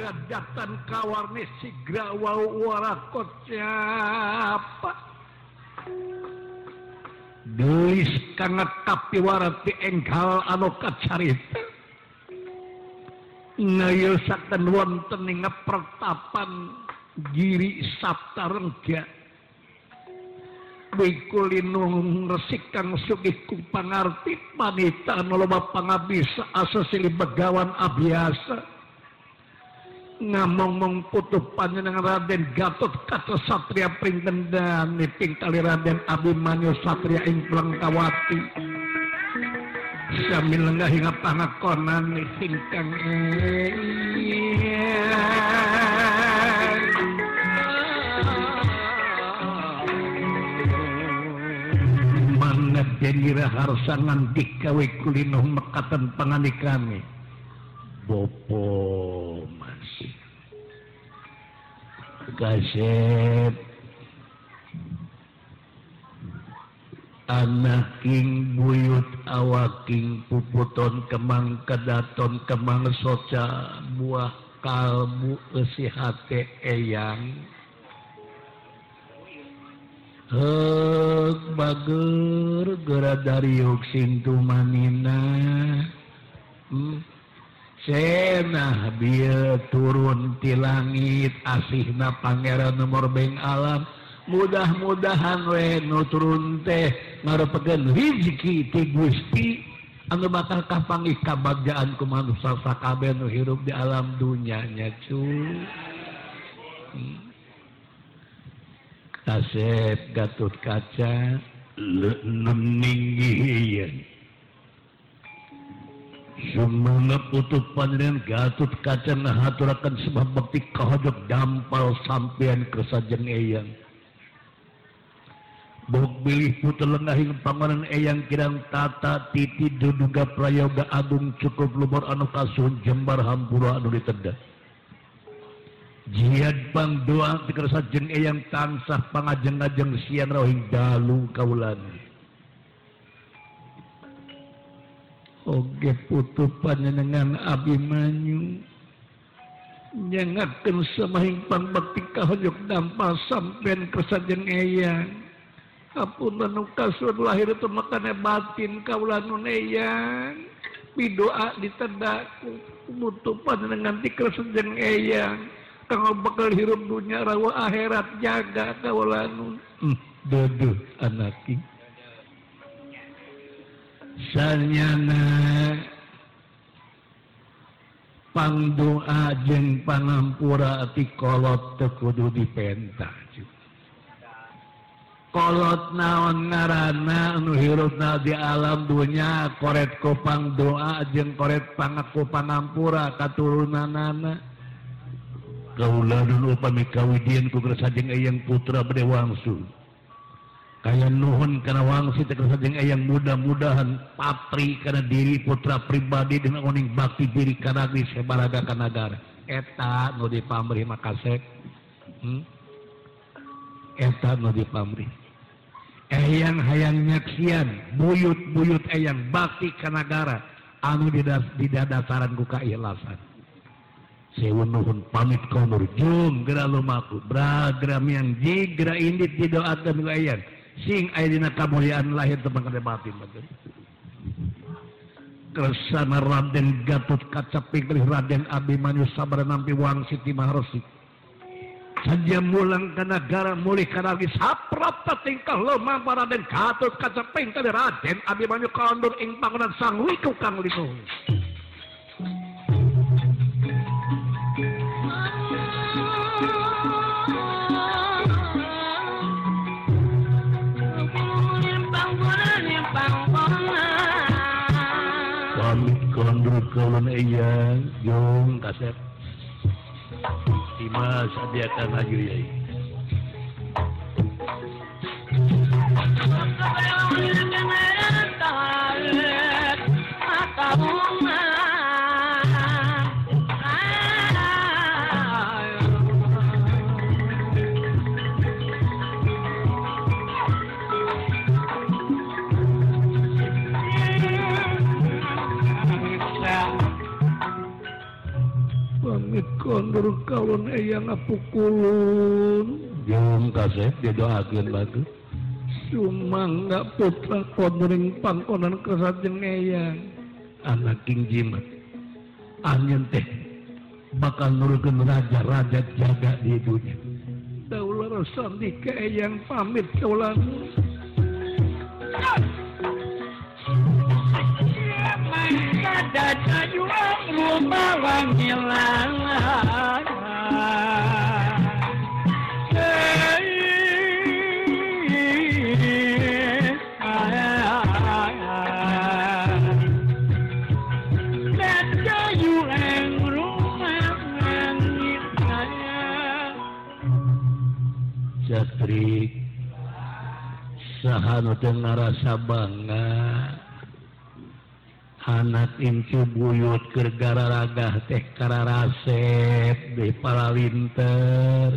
datan kawarni sigra wau warakot siapa gelis kangat tapi warati enggal anu kacarita ngayosaken wonten ing pertapan giri sabta rengga wikulinung resik kang sugih ku pangarti panita anu loba pangabdi asa silih begawan abiasa ngamong-mong putuh panjenengan Raden Gatot Kaca Satria pring kendhan niping kali Raden Abimanyu Satria ing Plengkawati sami lenggah hingga pangakonan niping kang mangat denira harsangan dikawe kulinuh mekatan panganikami bopo masih kasep anak king buyut awaking puputon kemang kedaton kemang soca buah kalbu esi hate eyang hek bager gera dariuk sintu manina cenah bieu turun ti langit asihna pangeran nomor beng alam mudah-mudahan we nu turun teh ngarepekeun rezeki ti Gusti anu bakal kapanggih kabagjaan ku manusa sakabeh nu hirup di alam dunya nya cu Kasep Gatot Kaca neninggiheun Sumana putuh panjenengan Gatot Kaca ngahaturaken sebab bakti kahojok dampal sampean kesajeng eyang. Bok bilih putu lengahing pangonan eyang kirang tata titi duduga prayoga agung cukup lumur anu kasuhun jembar hampura anu ditedha. Jihad pang doa ti kesajeng eyang tansah pangajeng-ajeng siang rohing dalu kaulan. Oge putuh panjenengan Abimanyu nyangakeun samahing pangbakti kahojok dampal sampean kesajeng eyang hapunten nu kasuhun lahir teu makana batin kaula nun eyang pidoa ditedhaku putuh panjenengan ti kesajeng eyang kanggo bakal hirup dunya rawa akhirat jaga kaula nun duduh anaki sanyana pangdoa jeung pangampura ti kolot teu kudu dipenta kolot naon ngaranna anu hirupna di alam dunya koret ku pangdoa jeung koret pangaku pangampura katurunanana kaula dulu upami kawidian ku kesajeng eyang putra bade wangsul kaya nuhun kana wangsit kesajeng eyang mudah-mudahan patri kana diri putra pribadi dengan oning bakti diri kana di sebaraga kanagara eta nu dipamrih makasek eta nu dipamrih eyang hayang nyaksian buyut-buyut eyang bakti kanagara anu didadasaran ku kaikhlasan sewu nuhun pamit konur jung geura lumaku bragram yang jigra indit didoakeun ku eyang sing aya dina kamuliaan lahir teu mangkade batin betul. Kersana Raden Gatot Kaca pilih Raden Abimanyu sabar nampi wangsit ti maharesi. Saja mulang ka nagara mulih kanagi saprapta tingkah lomang Raden Gatot Kaca pilih Raden Abimanyu kaundur ing pangonan sang wiku kang linuh. Pamit kondur kaulun eyang jong kasep Dimas adiakan lagi yai pamit kondur kawan eyang apukulun jeung kasep didoakeun bagus sumangga putra konduring pangkonan kesajeng eyang anak king jimat anjeun teh bakal nurukeun raja-raja jaga di dunya daulah sandi ke eyang pamit kaulan dada juang rumah wangilan dada juang rumah wangilan Jatrik sahanu teu ngarasa bangga anak incu buyut keur gararagah teh kararasep di paralinter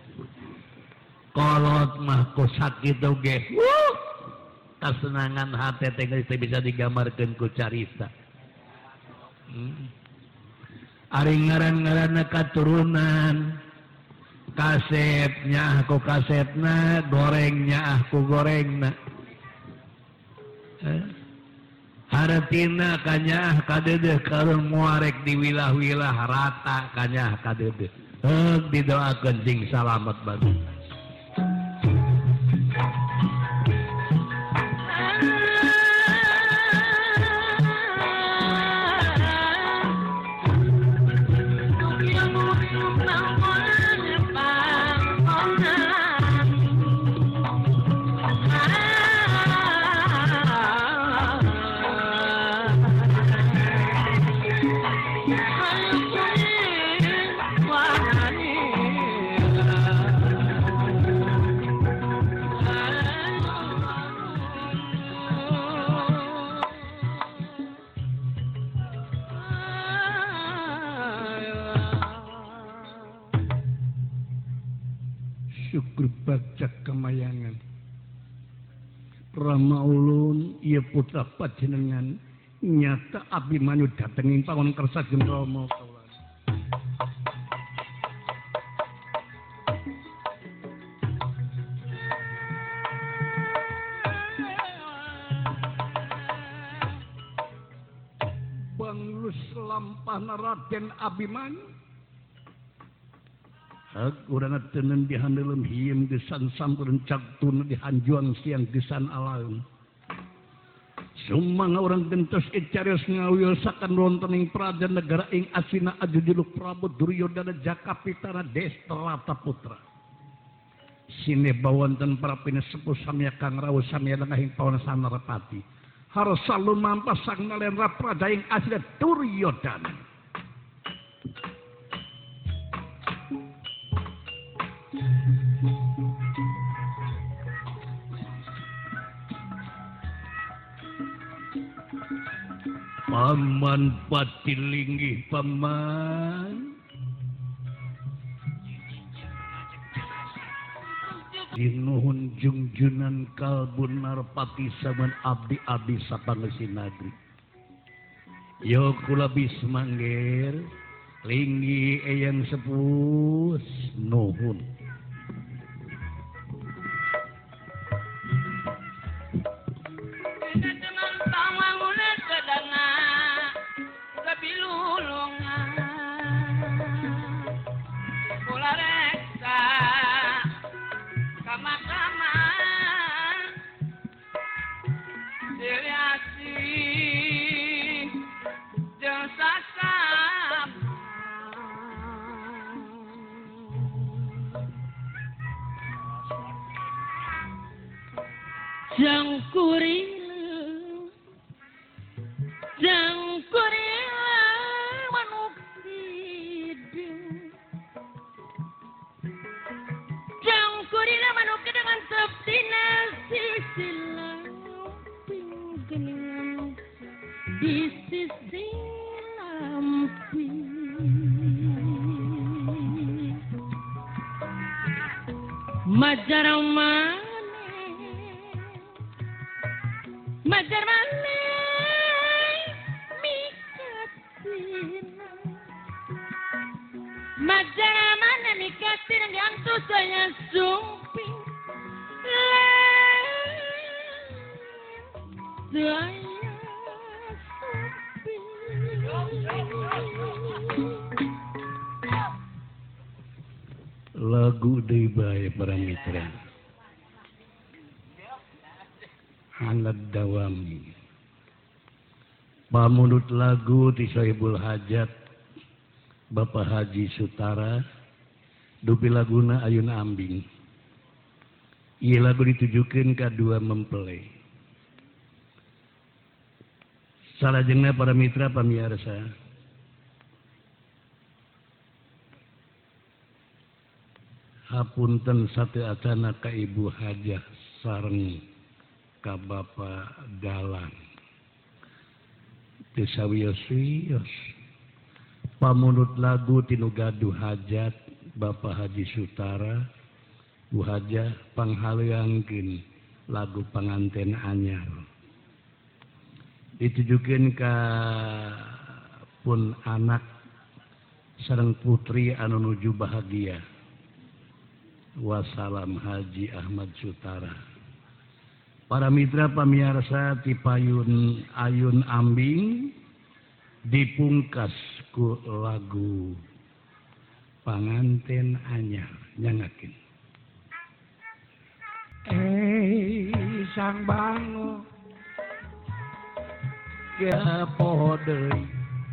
kolot mah ku sakit oge kasenangan hate teh geus bisa digambarkeun ku carita ari ngaran-ngaranna katurunan kasepnya aku kasepna gorengnya aku gorengna Haratina kanyah kadedeh karun muarek di wilah-wilah rata kanyah kadedeh didoakeun sing salamet bagus syukur baca kemayangan Rama ulun ieu putra panjenengan nyata Abimanyu datengin panggon kersakeun Rama kaulan banglus lampahna Raden Abimanyu urang teuneun dihandelem hiem gesan sampureun cagtun dihanjuang siang gesan alaeun sumangga urang gentos carios ngawiosakan rontoning praja negara ing asina ajujuluk Prabu Duryodana Jakapitana Destrata putra sinepa wonten para pinesepuh samya Kang Rawuh samya dengahing pawana Sanarepati harsa lumampah sang nalendra praja ing asina Duryodana Paman patilinggih paman Sinuhun jungjunan kalbun narpati saman abdi-abdi sapangeusi nagri yo kula bismangger linggi eyang sepuh nuhun Majang mana mikatin yang tu saya sumping. Saya lagu deui bae para mitra. Anak dawami. Pamunut lagu ti Sohibul Hajat Bapak Haji Sutara dupi laguna Ayun Ambing. Ieu lagu ditujukeun ka dua mempelai. Salajengna para mitra pamirsa. Hapunten sateatana ka Ibu Hajah sareng ka Bapak Dalang. Teu sawios-wios. Pamunut lagu tinu gaduh hajat Bapak Haji Sutara, Bu Hajah panghaleuangkeun lagu panganten anyar. Ditujukeun ka pun anak sareng putri anu nuju bahagia. Wassalam Haji Ahmad Sutara. Para mitra pamirsa ti payun Ayun Ambing dipungkas ku lagu panganten anyar nyangakeun. Sang bango Ya poho deui.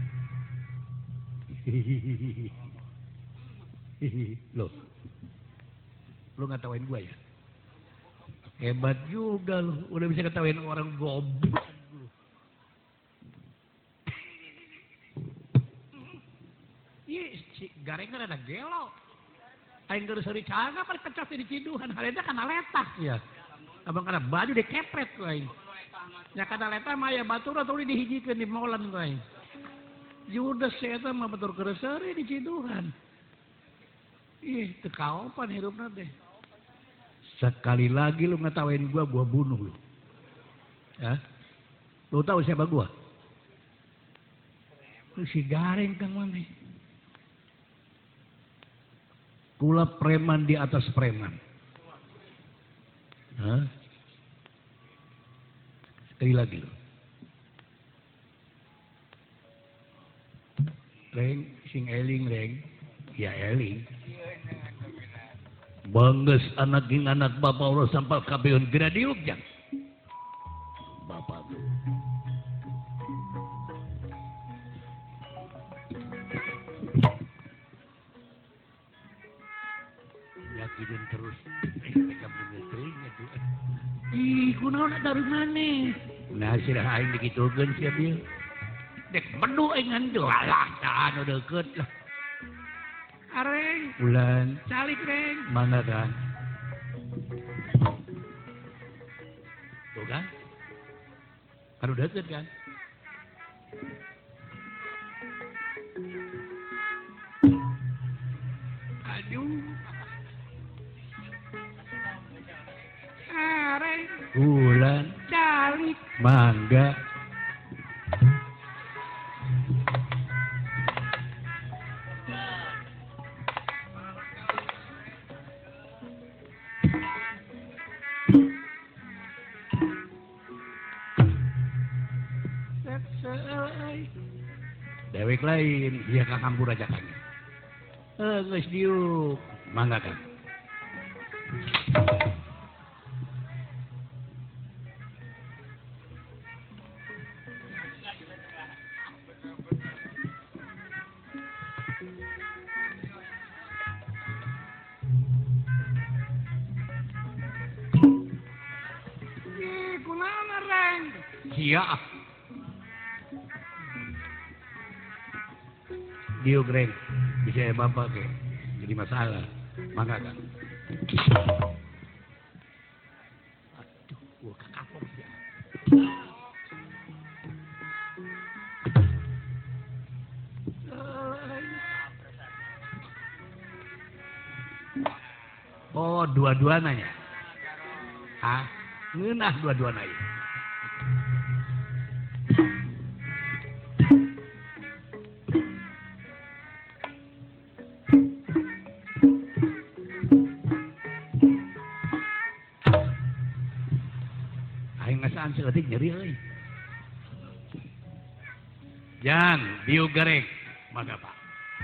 Loh. Lu ngatawain gua ya? Hebat juga lu, udah bisa ngatawain orang goblok. Ih, si Gareng kan ada gelo. Aing geus seuri caga paling pecah di ciduhan, halenda kana letak ya. Abang kana baju dikepret ku aing. Nya kana letak mah aya batur atuh dihijikeun di molan ku aing. Judes eta mah batur geus seuri di ciduhan. Ih, teu kaopan hirupna teh. Sekali lagi lu ngetawain gua bunuh lu. Ya? Lu tahu siapa gua? Lu si Gareng Kang Mane. Kula preman di atas preman. Hah? Sekali lagi lu. Reng, sing eling Reng. Ya eling. Bangges anak ging anak bapak Allah sampal kabeun gena diuk jang. Bapak tuh. Yakin terus. Mereka bener teuing atuh. Ih, kunaon dari mana? Nah, sirah aing dikitukeun sia dieu. Dek bedu aing ngan lah, anu deukeut lah. Areng, bulan, calik Reng, mana kan? Tuh kan? Kan udah deket kan? Aduh. Areng, bulan, calik, mangga. Dewek lain, dia ka kampur aja kan. Geus diuk, mangga kan. kunaon Reng? Sia. Diuk Reng, bisa ya bapak ke, jadi masalah, mangga kan. Aduh, gua kakapok ya. Oh, dua-duana ya? Hah? Ngeunah dua-duana ya? seeutik nyeri euy. Jang, diu garek. Mangga Pak.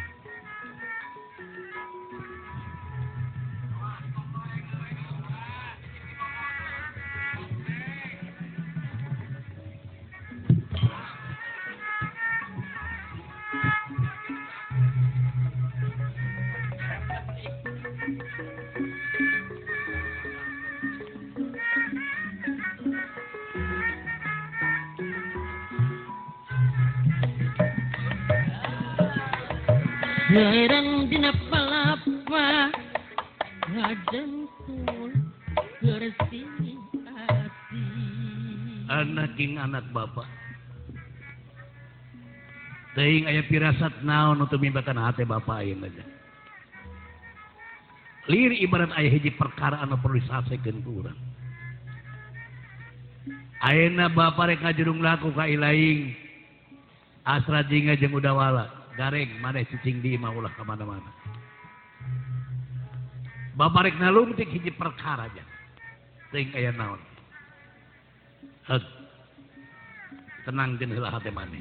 Herang dina palapa ngajengkul bersih hati. Anak king anak bapak. Teuing aya pirasat naon untuk mimbakan hati bapak ayeuna aja. Lir ibarat aya hiji perkara anu perlu disasekeun ku urang. Ayeuna bapak rek ngajurung laku ka ilaing. Asra jinga jeung udawala. Gareng maneh cicing di imah ulah kemana-mana. Bapak rek nalungtik hiji perkara aja. Teuing aya naon. Heg. Tenang jeung heula hate maneh.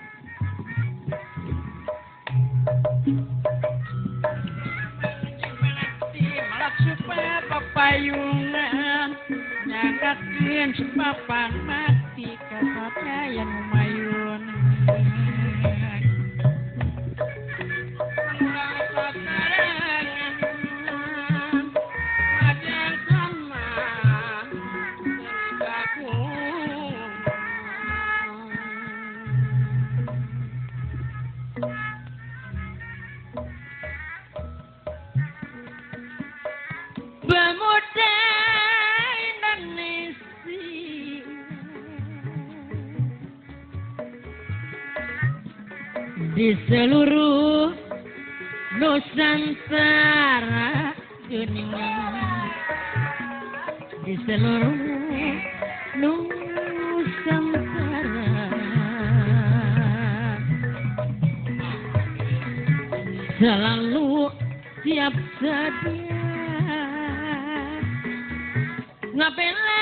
Malak supaya papayungan nyangakeun sepapan mati kasatnya yang mayun. Di seluruh Nusantara geningan, di seluruh Nusantara selalu siap sedia ngabela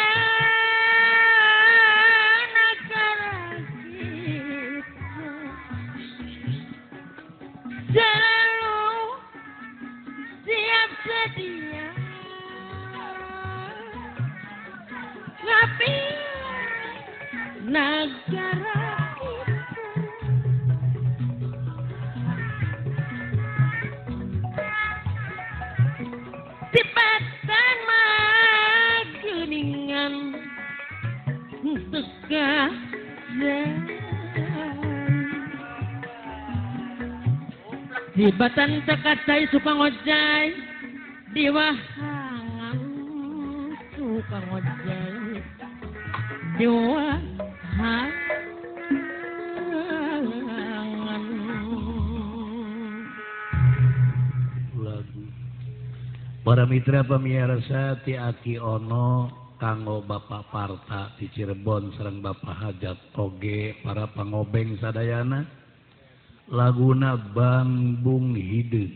selalu siap sedia tapi negara kita tibatan mageningan teka Hibatan tekacai suka ngojai diwahangan suka ngojai diwahangan. Lagu para mitra pamirsa ti Aki Ono kanggo Bapak Parta di Cirebon sareng Bapak Hajat oge para pangobeng sadayana. Laguna Bambung Hideung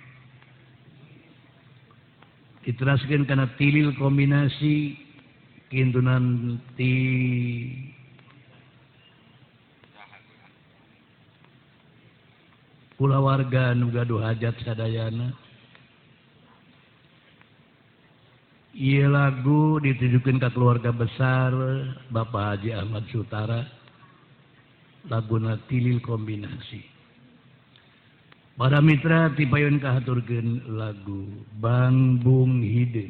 diteraskeun kana tilil kombinasi kintunan ti kulawarga nu gaduh hajat sadayana. Ieu lagu ditujukeun ka keluarga besar Bapak Haji Ahmad Sutara. Laguna tilil kombinasi. Para mitra tipayun kahaturkeun lagu Bambung Hideung.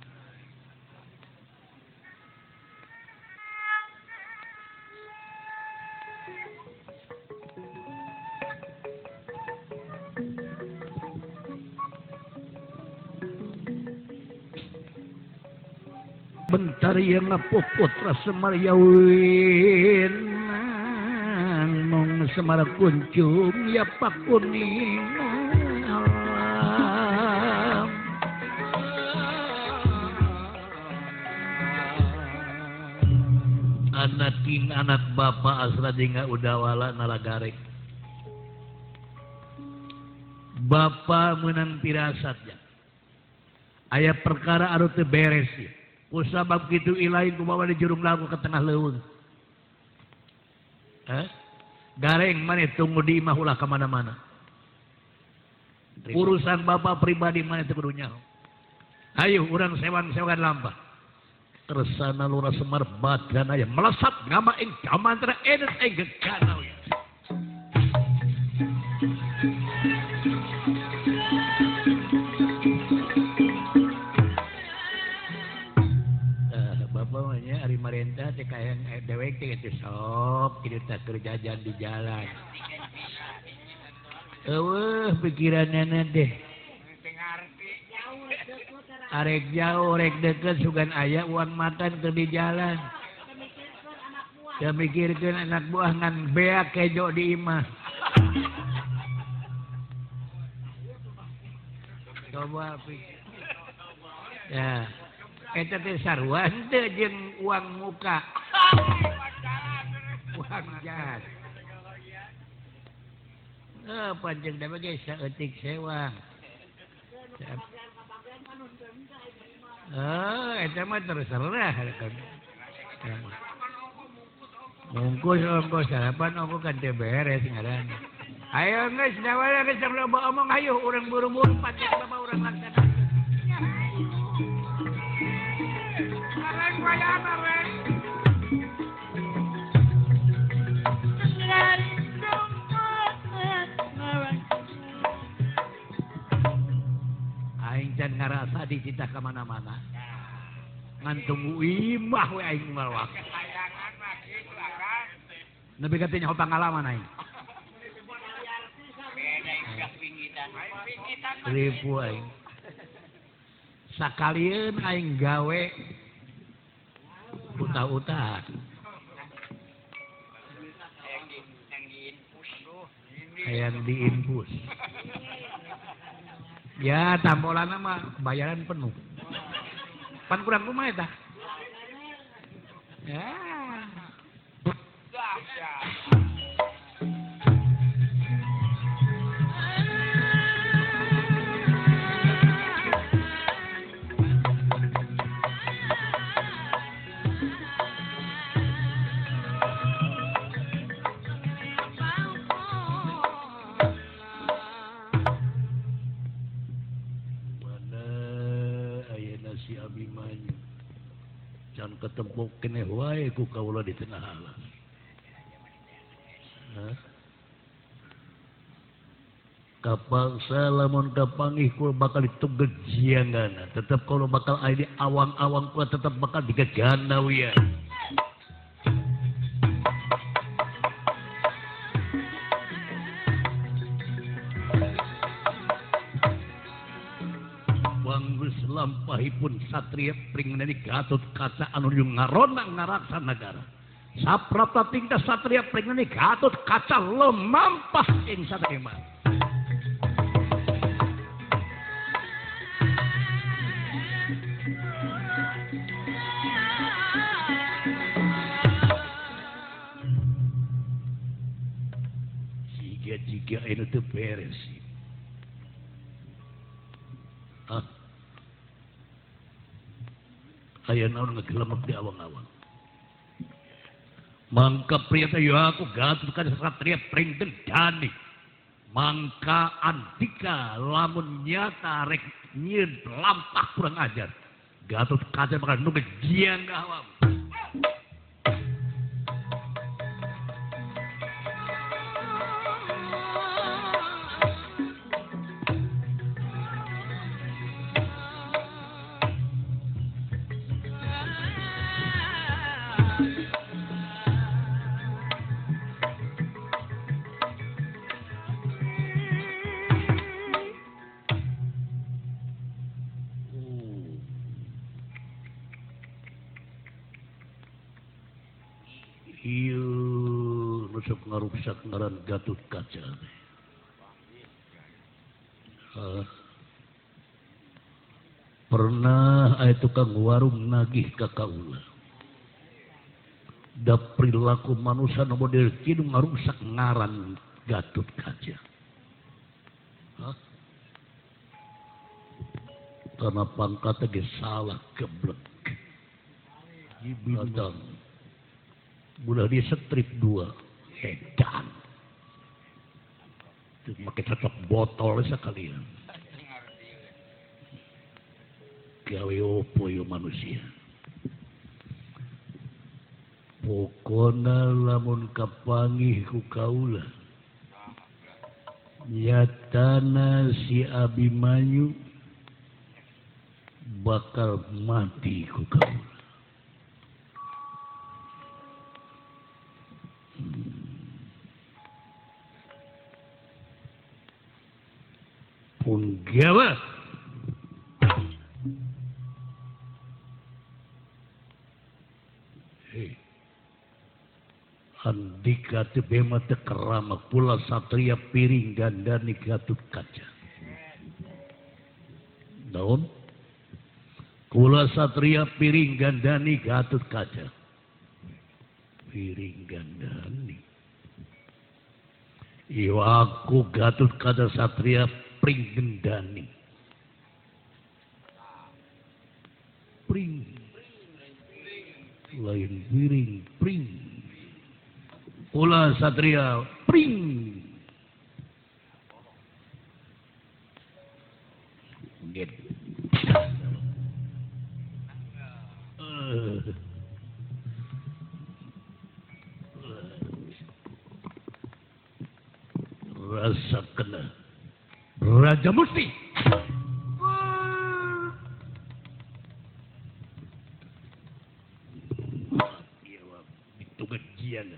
Bentar yang ngapuput Semar Yawin mong Semar kuncung ya pakuning anak king anak bapak asra jingga udawala nalagarek bapak menang pirasatnya aya perkara anu teu beres ya. Kusabab kitu ilain kumaha di jurung lagu ke tengah leuweung. Gareng maneh tunggu di imah ulah ka mana-mana. Urusan bapak pribadi maneh teu kudu nyaho. Ayo urang sewan-sewan lampah. Kersana lurah Semar badan aya melesat ngamain kamantra edet geganau. Bapaknya Ari Marenta teh kayak dewek teh geus sok kieu teh keur jajan di jalan. Eueuh pikiranna deh. Arek jauh, arek deket sugan aya uang makan keur di jalan. Teu mikirkeun anak buah ngan beak kejo di imah. Coba pikir. Ya. Eta teh sarua henteu jeung uang muka. Uang jas. Panjang da bage saeutik sewang. Eta mah terserah. Ongkos sarapan ongkos kan teu beres ngaran. Ayo geus dawara geus loba omong hayu urang buru-buru panjang bapak urang laksana. Aing can ngarasa dicita ka mana-mana. Ngan tunggu imah we aing ngalwak. Nepi ka teh nyaho pangalaman aing. Ribu aing. Sakalieun aing gawe utah-utah. Hayang diinpus. Ya tambolanna mah bayaran penuh. Pan kurang kumaha eta? Ya. Can ketempuk keneh wae ku kaula di tengah alam. Kapangsa lamun kapanggih kula bakal ditugeg jiangana, tetep kalau bakal aya di awang-awang kula tetep bakal digegana wian. Lampahipun satria pringnani Gatot Kaca anu ngarona ngaraksa nagara. Saprapta tingkah satria pringnani Gatot Kaca lemampah ing saterima. Jika anu teu beres. Aya naon ngegelemek di awang-awang. Mangka pria teh aku Gatot Kaca satria pring dani. Mangka Andika lamun nyata rek nyieun lampah kurang ajar. Gatot Kaca bakal nunggu jiang ka awam. Nusuk ngaruksak ngaran Gatot Kaca. Pernah aya tukang warung nagih ka kaula. Da perilaku manusia nu model kieu ngaruksak ngaran Gatot Kaca. Karena pangkatnya ge salah geblek. Nonton. Bulan dia strip 2. Edan. Pakai cocok botol sekalian. Gawe opo yo manusia. Pokona lamun kapangih ku kaula. Nyatana si Abimanyu bakal mati ku kaula. Punggawa Andika te bema te kerama pula satria piring gandani Gatut Kaca. Naon? Kula satria piring gandani Gatut Kaca. Piring gandani. Iyo aku Gatut Kaca satria piring gandani. Pring. Lain piring, pring. Kula satria pring. Get. Rasa kena Raja Musti. Itu gajian.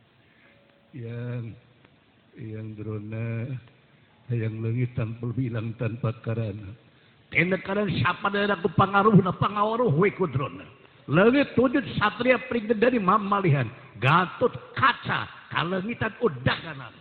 Yang drona yang langit tanpa bilang tanpa karana tenda karan siapa dari aku pangaruh na pangawaruh we ku drona langit wujud satria pring dari mamalihan Gatut Kaca kalangitan udaganan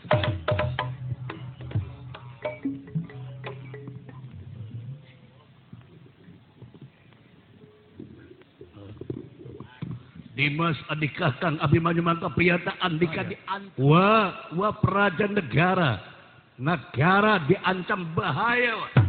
Dimas Andika Kang Abimanyu mangka priyata Andika wah praja negara diancam bahaya wah.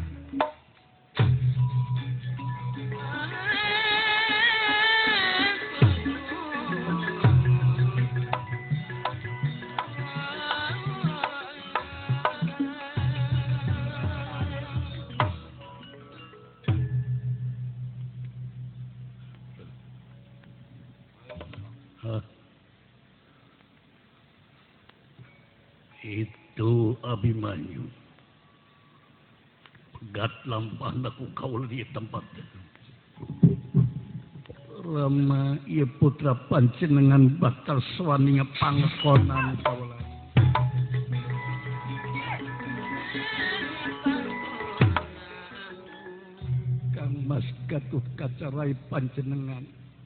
Itu Abimanyu pegat lampah naku kaul di tempat Rama ia putra panjenengan bakal swaninya pangkonan kaulan Kang Mas Gatut Kaca rai panjenengan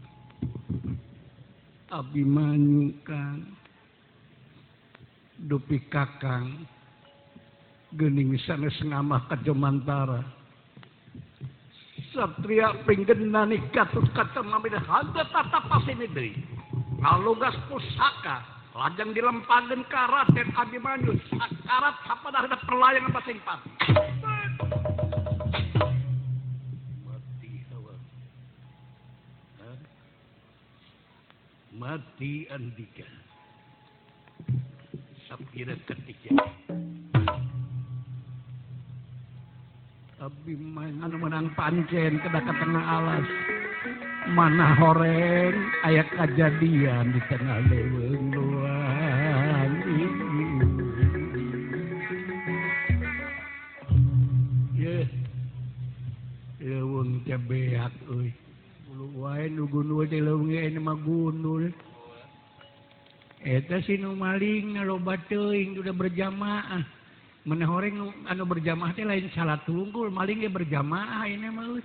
Abimanyu Kang dupi kakang geuning sanes ngamah ka Jomantara satria pinggenani Gatut Kaca mamida handa tatapasini deui ngalogas pusaka lajang dilempageun ka Raden Abimanyu sakarat sapadahna perlayangan pasing pati mati hawa mati Andika Sapira ketiga Abimanyu anu menang pancen kedah ka tengah alas mana horeng aya kajadian di tengah leuweung luang leuweung teh beak euy ulu wae nu gunul teh leuweung aya mah gunul eta si nu maling loba teuing udah berjamaah mana horeng anu berjamaah teh lain salat tunggul maling ge berjamaah ini mah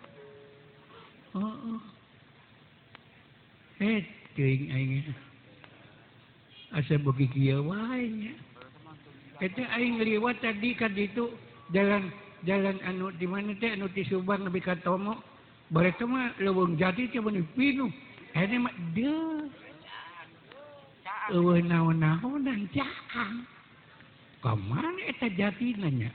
teuing aing asa beuki kieu wae nya eta aing liwat tadi ka ditu jalan anu di mana teh anu ti Subang nepi ka Tomo bareta mah leuweung jati teh bener pinuh hene mah deuh naon-naonan caang kamana eta jatina nya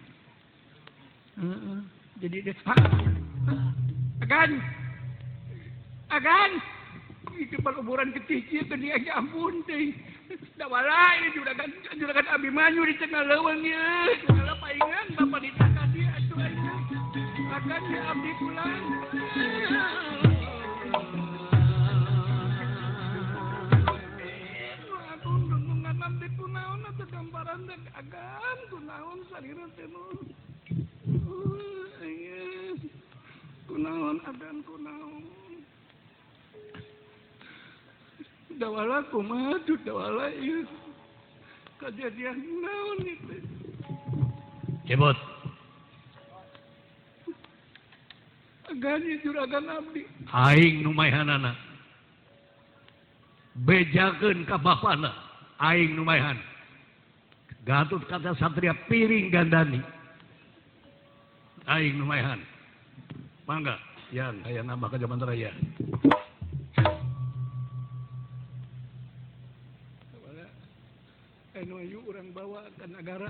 jadi agan Itu perkuburan kecil ke dia ampun teh. Da wala ini juragan Abimanyu di tengah leuweung ieu. Segala paingan bapak ditaka dia atuh aja. Akan dia abdi pulang. Aku nunggungan abdi kunaon atuh gambaran teh agan kunaon salira teh nu. Kunaon agan kunaon. Dawala kumaha tuh dawala ieu. Kejadian naon itu. Cebot. Agani juragan abdi. Aing nu maehanana. Bejakeun ka bapana. Aing nu maehan. Gatut kata Satria piring gandani. Aing nu maehan. Mangga, yang aya nambah ka Jaman Raya. Anu ayu urang bawa ke negara.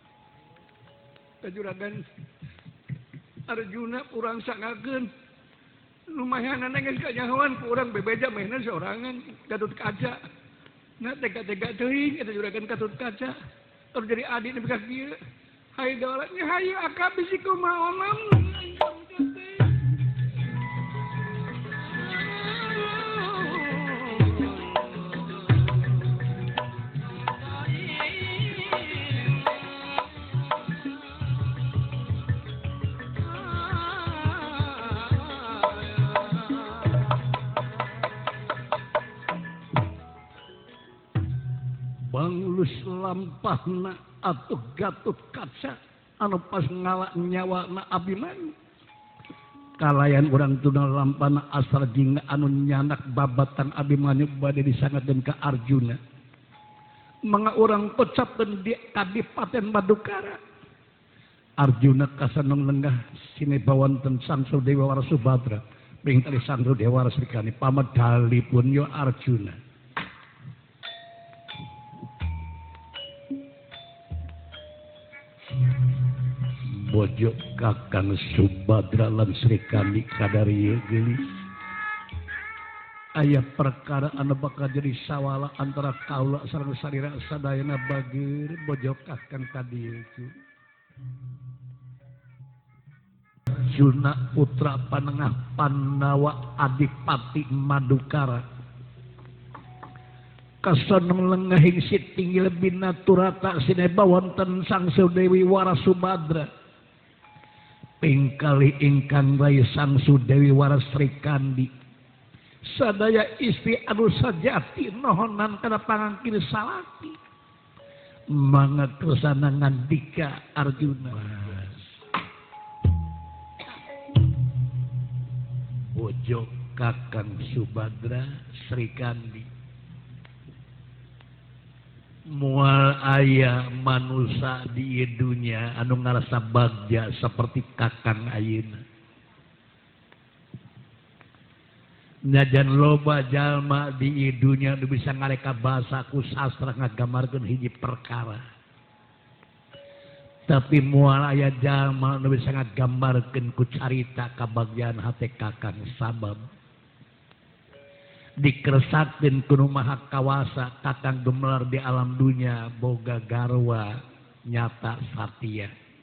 Ka juragan Arjuna urang sangakeun. Lumayan geus kanyahoan ku urang bebeja mainan sorangan Gatut Kaca. Nah tega-tega teuing eta juragan Gatut Kaca. Terus jadi adi nepi ka kieu. Hai dawalanya hayu akab bisi kumaha onam. Banglus lampahna atuh Gatut Kaca anu pas ngalak nyawana Abimanyu. Kalayan urang tuna lampahna asal jingga anu nyanak babatan Abimanyu bade disangadeun ka Arjuna. Manga urang pecapkeun di Kadipaten Madukara. Arjuna kasanong lenggah sinebawanten Sangsu Dewa Warasubadra. Ping tali Sangsu Dewa Warasrikani pamadhalipun yo Arjuna. Bojo Kakang Subadra lan Srikandi kadarieu geulis. Aya perkara anu bakal jadi sawala antara kaula sareng sarira sadayana bageur bojo Kakang kadieu. Juna putra panengah Pandawa Adipati Madukara. Kasanong lengahing sitinggil binaturata sineba wonten Sangsu Dewi Warasubadra. Pingkali ingkang bayi Sangsu Dewi Warasrikandi. Sadaya istri anu sajati nohonan kana pangangkin salaki. Mangga kersana ngandika Arjuna. Bojo Kakang Subadra Srikandi. Mual aya manusia di dunia anu ngarasa bagja seperti Kakang ayeuna. Najan loba jalma di dunia anu bisa ngareka bahasa ku sastra ngagamarkeun hiji perkara. Tapi mual aya jalma anu bisa ngagambarkeun ku carita kabagjaan hate Kakang sabab dikersatkeun ku Maha Kawasa Kakang gemelar di alam dunia boga garwa nyata satia.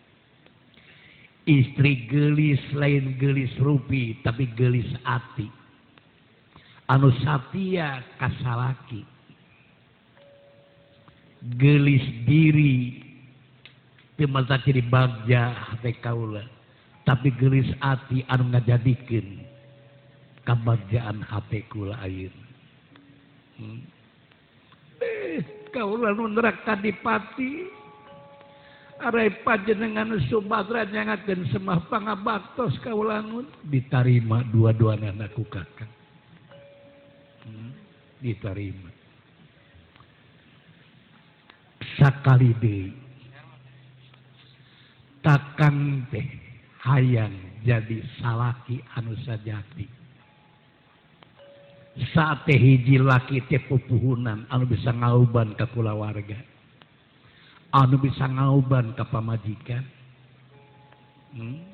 Istri gelis lain gelis rupi tapi gelis ati. Anu satia kasalaki. Gelis diri teu mata ciri bagja hate kaula tapi gelis ati anu ngajadikeun kabagjaan hate kula ayeuna. Kaula nu nerak Kadipati arai panjenengan Subadra nyangakeun semah pangabaktos kaula nun ditarima dua-duana ku Kakang. Ditarima. Sakali deui Kakang teh hayang jadi salaki anu sajati. Saat teh hiji laki teh pupuhunan anu bisa ngauban ka kulawarga, anu bisa ngauban ka pamajikan.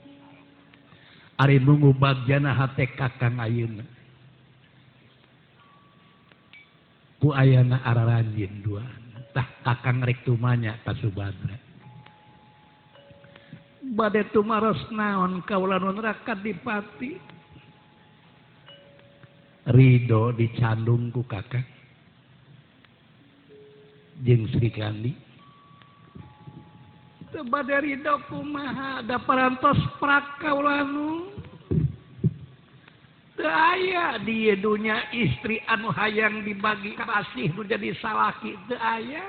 Ari nunggu bagjana hate Kakang ayeuna. ku ayana araranjin dua tah kakang rek tumanya ka Subadra bade tumaros naon kaula nu neraka dipati ridho dicandung ku kakang jeung Sri Kandi teu bade ridho kumaha da parantos prakaula nu teu aya di dunya istri anu hayang dibagi kasih nu jadi salaki teu aya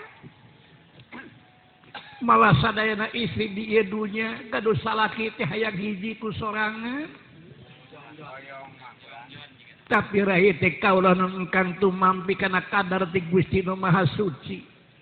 malah sadayana istri di dunya gaduh salaki teh hayang hiji ku sorangan tapi rahi teh kaula nu engkang tumampi kana kadar ti Gusti Nu Maha Suci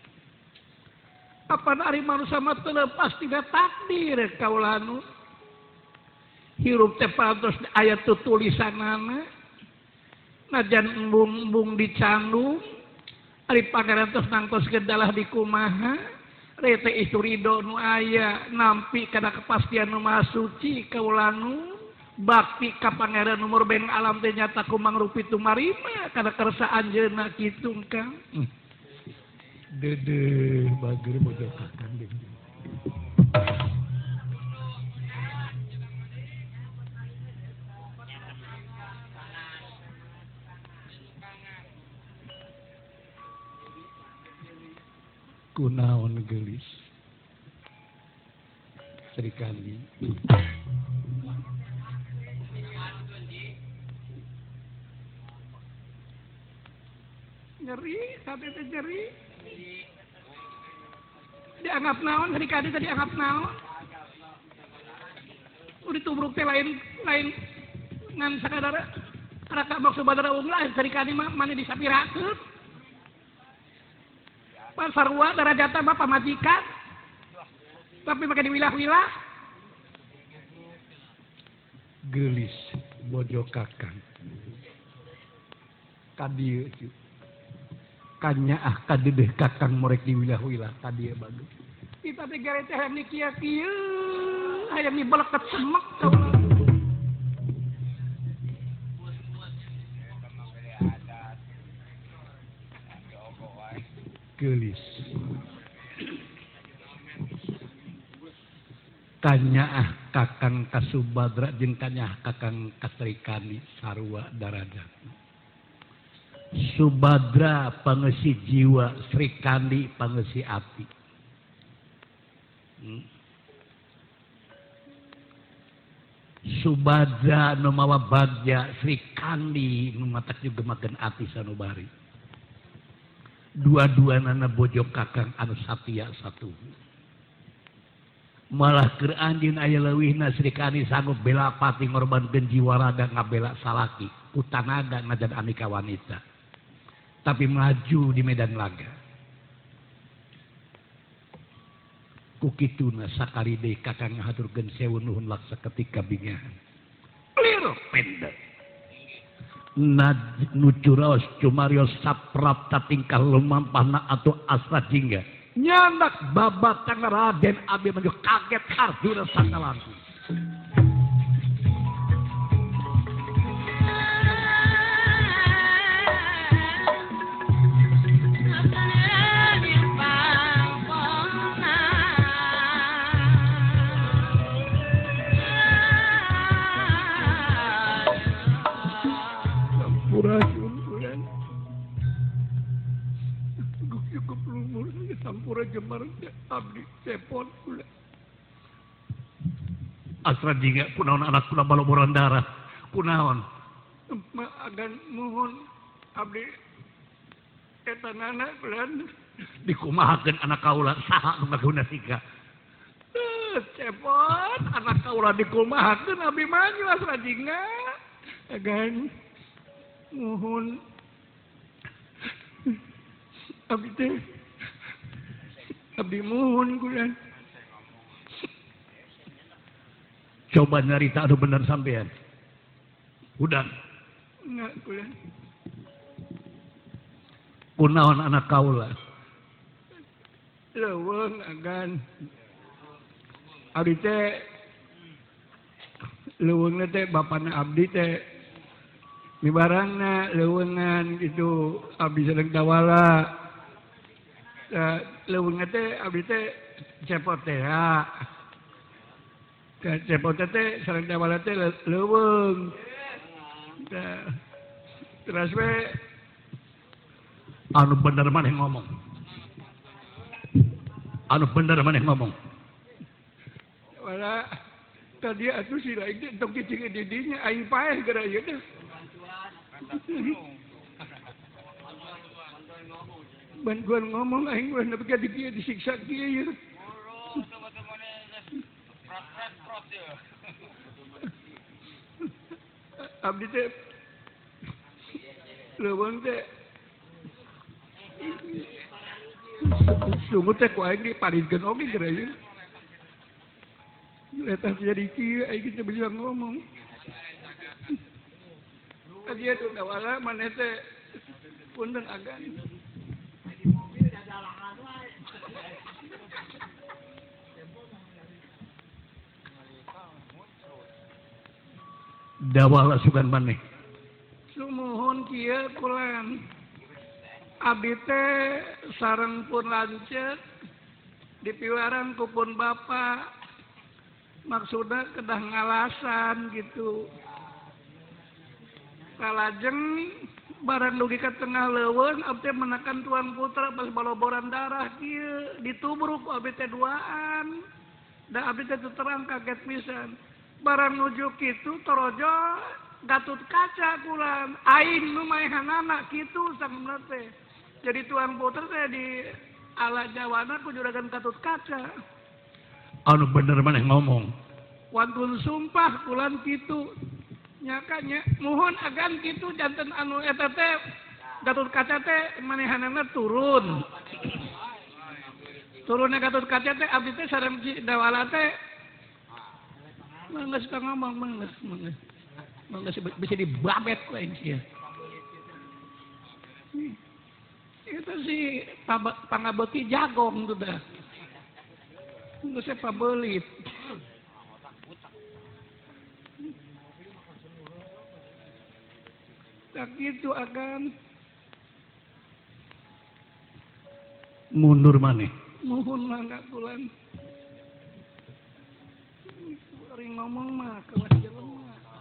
apa ari manusia mah teu lepas tina takdir kaula nu hirup teh parantos aya tulisanana najan embung-embung dicandung ari pangarantos nangtos gedalah di kumaha rete istu ridho nu aya nampi kana kepastian Nu Maha Suci kaula nu bakti ka pangeran umur beng alam teh nyata kumang rupi tumarima kana kersa anjeunna kitu Kang dede bager bodoh kakang deui kunaon gelis Sri Kandi nyeri tapi teh nyeri dianggap naon Sri Kandi teh dianggap naon udah tubruk teh lain ngan sakadara raka maksud Badara Unglah Sri Kandi mah mani disapirakeun sarua darajatna mah pamajikan tapi make diwilah-wilah gelis bojo kakang kadieu kanyaah kadedeh kakang morek diwilah-wilah kadieu bagus kita teh gare teh hayang kieu hayang dibeleket semek kaula gelis kanyaah kakang ka Subadra jeung kanyaah kakang ka Sri Kandi sarua darajat Subadra pangeusi jiwa Sri Kandi pangeusi ati Subadra nu mawa bagja Sri Kandi nu matak juga makan ati sanubari dua-duana bojo kakang anu satia satu malah keur anjeun aya leuwihna Sri Kandi sanggup bela pati ngorbankeun jiwa raga ngabela salaki ku tanaga najan aneka wanita tapi maju di medan laga ku kituna sakaride kakang ngahaturkeun sewu nuhun laksa ketika bingahan lir pendek nucuraos cumarios saprapta tingkah lumampahna atau asra jingga nyandak babatang Raden Abi Manyu kaget harjuna sakalaku Sampura Jemar abdi cepot kula asra jingga kunaon anak kula baloboran darah kunaon agan mohon abdi eta nana kulan dikumahakeun anak kaula saha nu ngaguna siga cepot anak kaula dikumahakeun Abi Manyu asra jingga agan mohon abdi teh abdi mohon kulan coba nyarita anu bener sampean udah enggak kulan kunaon anak kaula leuweung agan abdi teh leuweungna teh bapana abdi teh Di barangna leuweungan itu abdi sedeng dawala. Leuweungan teh abdi teh cepot teh ya. Cepot teh sareng dawala teh leuweung. Terus we anu bener maneh ngomong. Anu bener maneh ngomong. Wala tadi atuh si lain teh tok cicing di dinya aing paeh gara ieu teh. Bantuan ngomong aing mah nepi ka dieu disiksa kieu. Abdi teh leuweung teh sungguh teh ku aing diparingkeun oge gara ieu. Eta jadi kieu aing teh bisa ngomong. Tadi itu dawala maneh teh punten agan. Dawala sugan maneh. Sumuhun kieu kulan. Abdi teh sareng pun lanceuk dipiwaran ku pun bapa. Maksudna kedah ngalasan gitu. Kalajeng barang dugi ka tengah leuweung abdi menakan tuan putra pas baloboran darah kieu ditubruk ku abdi teh duaan. Da abdi teh terang kaget pisan. Barang nuju kitu torojo Gatut Kaca kulan aing nu maehanana kitu sagemna teh. Jadi tuan putra teh di ala Jawana ku juragan Gatut Kaca. Anu bener maneh ngomong. Wantun sumpah kulan kitu. Nyakanya mohon agan kitu janten anu eta teh Gatut Kaca teh manehanana turun. Turunnya Gatut Kaca teh abdi teh sareng dawala teh mangges ka ngomong mangges. Mangges bisa dibabet ku aing sia. Itu si pangabeuti jagong tuh dah. Geus pabelit. Tak gitu agan. Mundur maneh. Nuhun mangga kulan. Ring ngomong mah kelas jelema.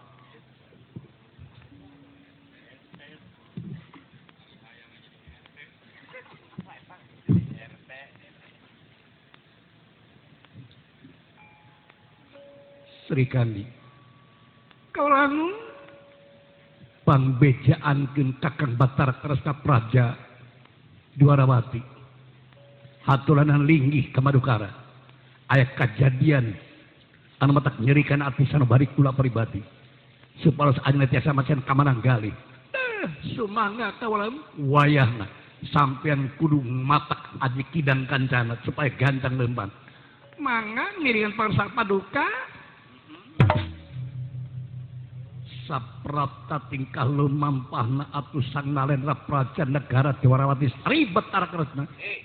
Sri Kandi. Kaulanun Pangbejaankeun Kakang Batara Kresna Praja Dwarawati. Hatulanan linggih ka Madukara. Aya kajadian anu matak nyerikan ati sanubari kula pribadi. Supados ayeuna tiasa macan ka Mananggali. sumangga kaulan Wayahna sampean kudu matak aji kidang kancana supaya ganteng lemban. mangga ngiringan pangsa paduka Saprapta tingkah lumampahna atuh sang nalendra praja negara Dwarawati Sri Batara Kresna.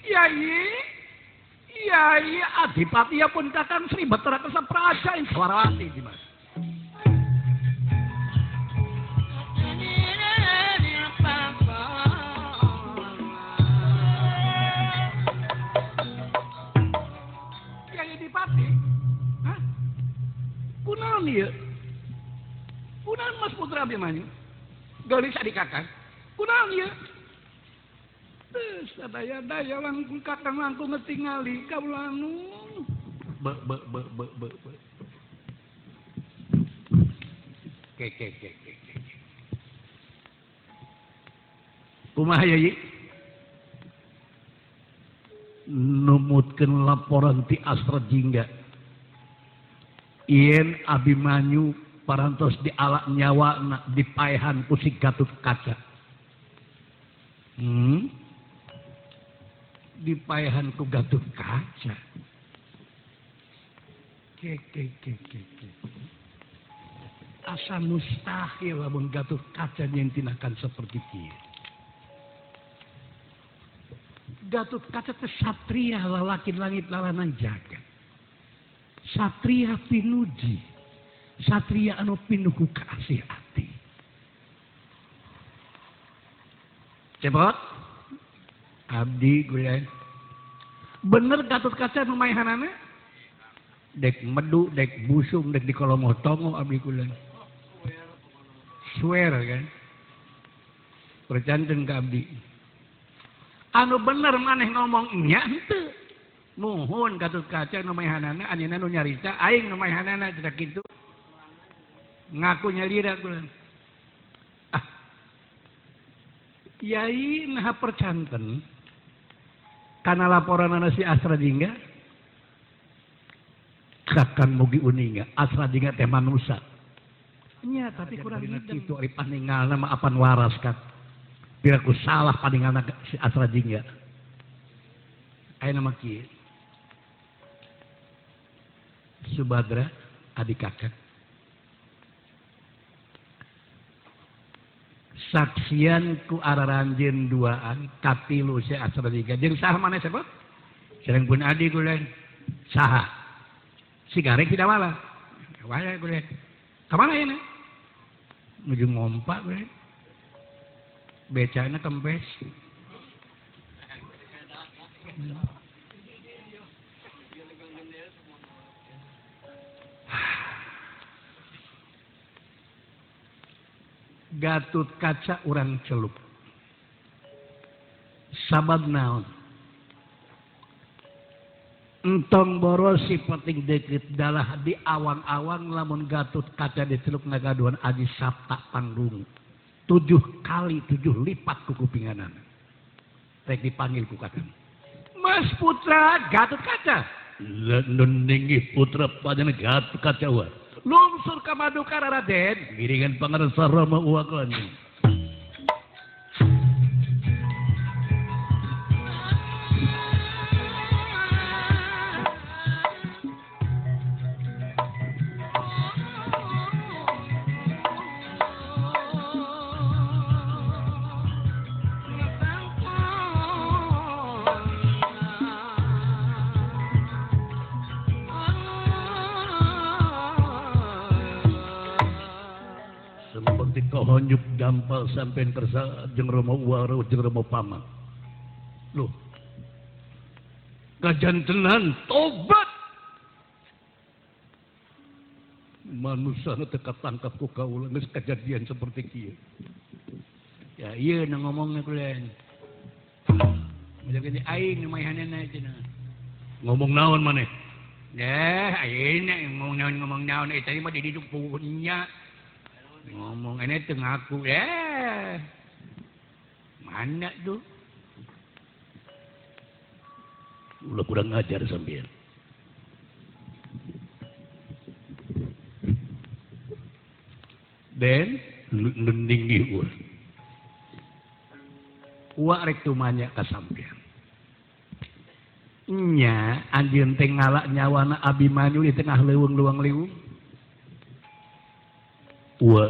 Yai Adipati pun Kakang Sri Batara Kresna Praja ing Dwarawati Dimas. Yai Adipati hah kunaon ieu kunaon Mas Putra Abhimanyu geulis adik Kakang kunaon ieu sadaya-daya langkung Kakang langkung ngetingali kaulanu Be. Ke. Kumaha Yai? Numutkeun laporan ti Astra Jingga. Yen Abhimanyu parantos dialak nyawana dipaehan ku si Gatut Kaca. Dipaehan ku Gatut Kaca. Ke. Asa mustahil lamun Gatut Kaca nyentinakan seperti kieu. Gatut Kaca teh satria lalaki langit lalanan jagat. Satria pinuji. Satria anu pinuh ku kasih ati. Cepot. Abdi kuliah. Bener Gatot Kaca nu maehanana? Dek medu, dek busung, dek di kolom tongo abdi kuliah. Swear kan. Percanten ke abdi. Anu bener maneh ngomong nya henteu. Muhun Gatot Kaca nu maehanana anjeunna nu nyarita aing nu maehanana cedak kitu. Ngaku nyalira kuliah. Yai nah percanten karena laporan si Asra Dingga kakang mugi uninga Asra Dingga teh manusia nya tapi kurang itu ari paningal nama apan waras kan piraku salah paningal si Asra Dingga aya nama kieu Subadra adik kakak saksian ku araranjeun duaan katilu si Asra Dingga jeung saha maneh sebut sareng pun adi kuliah saha si gareng tidak wala wala kuliah kamana ya nuju ngompa kuliah becana kempes Gatot Kaca urang celup sabab naon entong borosi penting deket dalah di awang-awang lamun Gatot Kaca diceluk ngagaduhan Aji Sapta panggung 7 kali 7 lipat ku kupinganan rek dipanggil ku kakang Mas Putra Gatot Kaca nundingi putra padana Gatot Kaca wa lungsur ka Madukara Raden giringan pangarsa Rama uwaklan honjuk gampal sampean kersa jeung Rama Waro jeung Rama Pama. Loh. Kajantenan tobat. Manusia teu katangkap ku kaula geus kejadian seperti kieu. Ya ieu na ngomongna kulen. Jadi aing nu maehanana cenah. Ngomong naon maneh? Aing ngomong naon tadi mah di diuk punya. Ngomong ini tuh ngaku mana tuh udah kurang ngajar sambil dan nendinggi uak rek tumanya kasampean nya anjeun teh ngalak nyawana Abimanyu di tengah leuweung liwung wa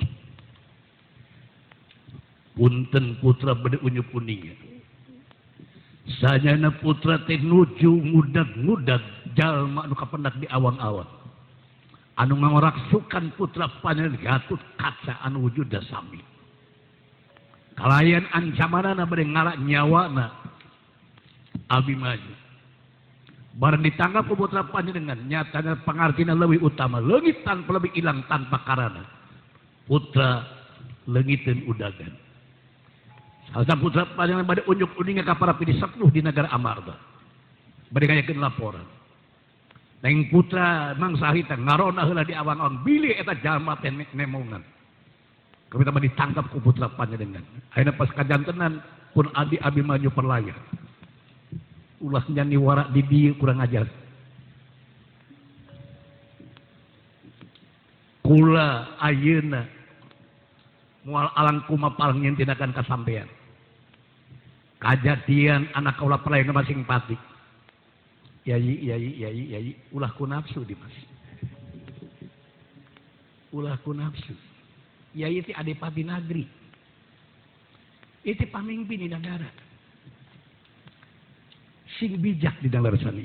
punten putra bade unyup uninga sanyana putra teh nuju ngudag-ngudag jalma anu kapendak di awang-awang anu ngaraksukan putra panjenengan Gatot Kaca anu wujuda sami kalayan ancamanana bade ngalak nyawana Abimanyu bareng ditanggap ku putra panjenengan nyatana pangartina leuwih utama leungit tanpa lebih ilang tanpa karana putra leungiteun udagan salsa putra panjenengan bade unjuk uninga ka para pidi sepuh di negara Amarta bade ngayakeun laporan neng putra mangsa harita ngarona heula di awang-awang bilih eta jalma teh nemongan kapita bade ditangkap ku putra panjenengan ayeuna pas kajantenan pun adi Abimanyu perlayar ulah nyanyi warak di dieu kurang ajar. Kula ayeuna moal alang kumapal nyen tindakan kasampean. Kajadian anak kaula perlayar masing pati. Yai, ulah ku nafsu Dimas. Ulah ku nafsu. Yai ti adipati nagri. Itu pamimpin di negara. Sing bijak di dalam sani.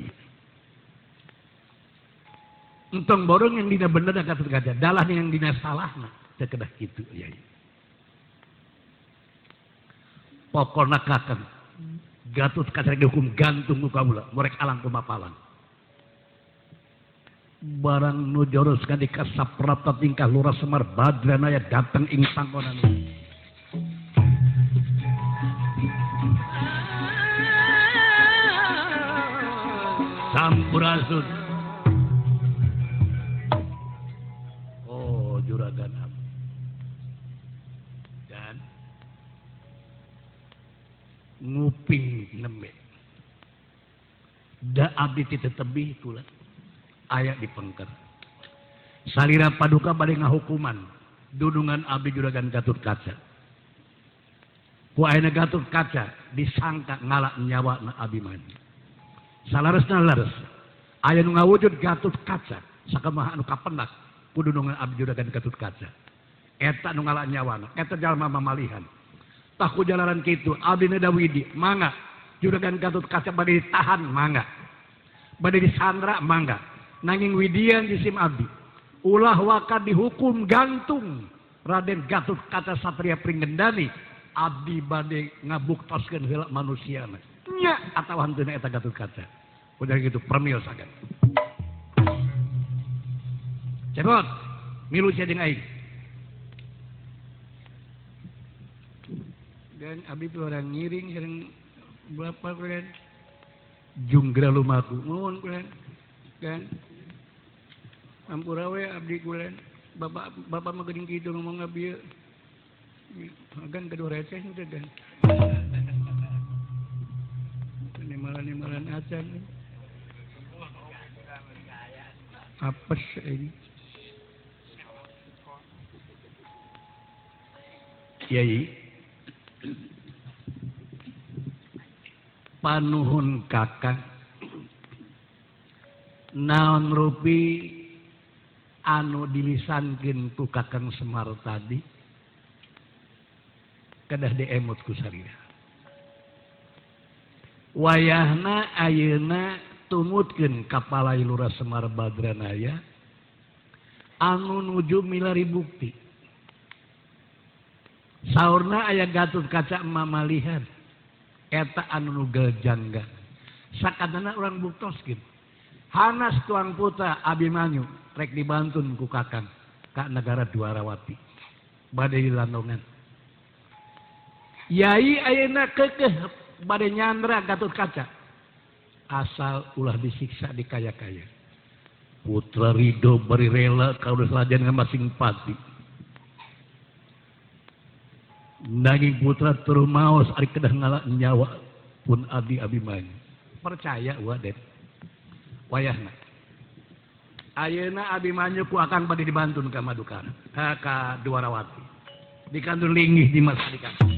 Entong borong yang dina bener Gatot Kaca, dalah yang dina salahna, teu kedah kitu yai. pokokna kakang Gatot Kaca dihukum gantung ku kaula morek alang kumapalan barang nu joroskan di kasaprata tingkah Lurah Semar Badranaya datang ing panggonan Sampurasun oh juragan abdi dan nguping nembe da abdi titebih kula aya dipengker salira paduka bade ngahukuman dudungan abdi juragan Gatot Kaca ku ayeuna Gatot Kaca disangka ngalak nyawana abdi mani salaresna lares aya nu ngawujud Gatot Kaca sakamaha anu kapendak ku dudungan abdi juragan Gatot Kaca eta nu ngalak nyawana eta jalma mamalihan tah ku jalaran kitu abdi na Dawidi mangga juragan Gatot Kaca bade ditahan mangga bade disandra mangga nanging widian jisim abdi ulah waka dihukum gantung Raden Gatot Kaca Satria Pringgendani abdi bade ngabuktoskeun heula manusiana nya atawa hanteuna eta Gatot Kaca udah gitu permiosakeun cepot milu sia jeung aing dan abdi tuh orang ngiring sareng berapa kulen junggra lumaku nuhun kulen kan ampura we abdi kulen bapak mah geuning kitu ngomong abdi agan kedua receh teh dan nimalan acan apes ini Yai panuhun kakang naon rupi anu dilisankeun ku Kakang Semar tadi kedah diemot ku sarira wayahna ayeuna tumutkeun kapalai Lurah Semar Badranaya anu nuju milari bukti saurna aya Gatot Kaca mamalihan eta anu nugel jangga sakadana urang buktoskeun hanas tuang putra Abimanyu rek dibantun ku kakang ka negara Dwarawati bade dilandongan Yai ayeuna keukeuh bade nyandra Gatot Kaca asal ulah disiksa dikaya-kaya putra Ridho bari rela kaula salajan ngamasing pati nanging putra turu maos ari kedah ngalak nyawa pun abdi Abimanyu percaya waden wayahna ayeuna Abimanyu ku akang bade dibantun ka Madukara ka Dwarawati dikandur linggih di masa dikandur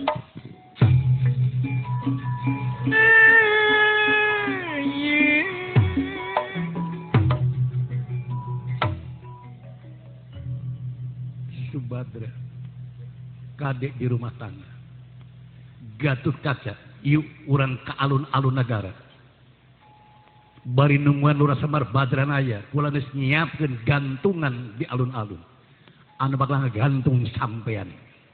Subadra kadek di rumah tangga Gatot Kaca ieu urang ka alun-alun negara bari nungguan Lurah Semar Badranaya kula geus nyiapkeun gantungan di alun-alun anu bakal ngagantung sampean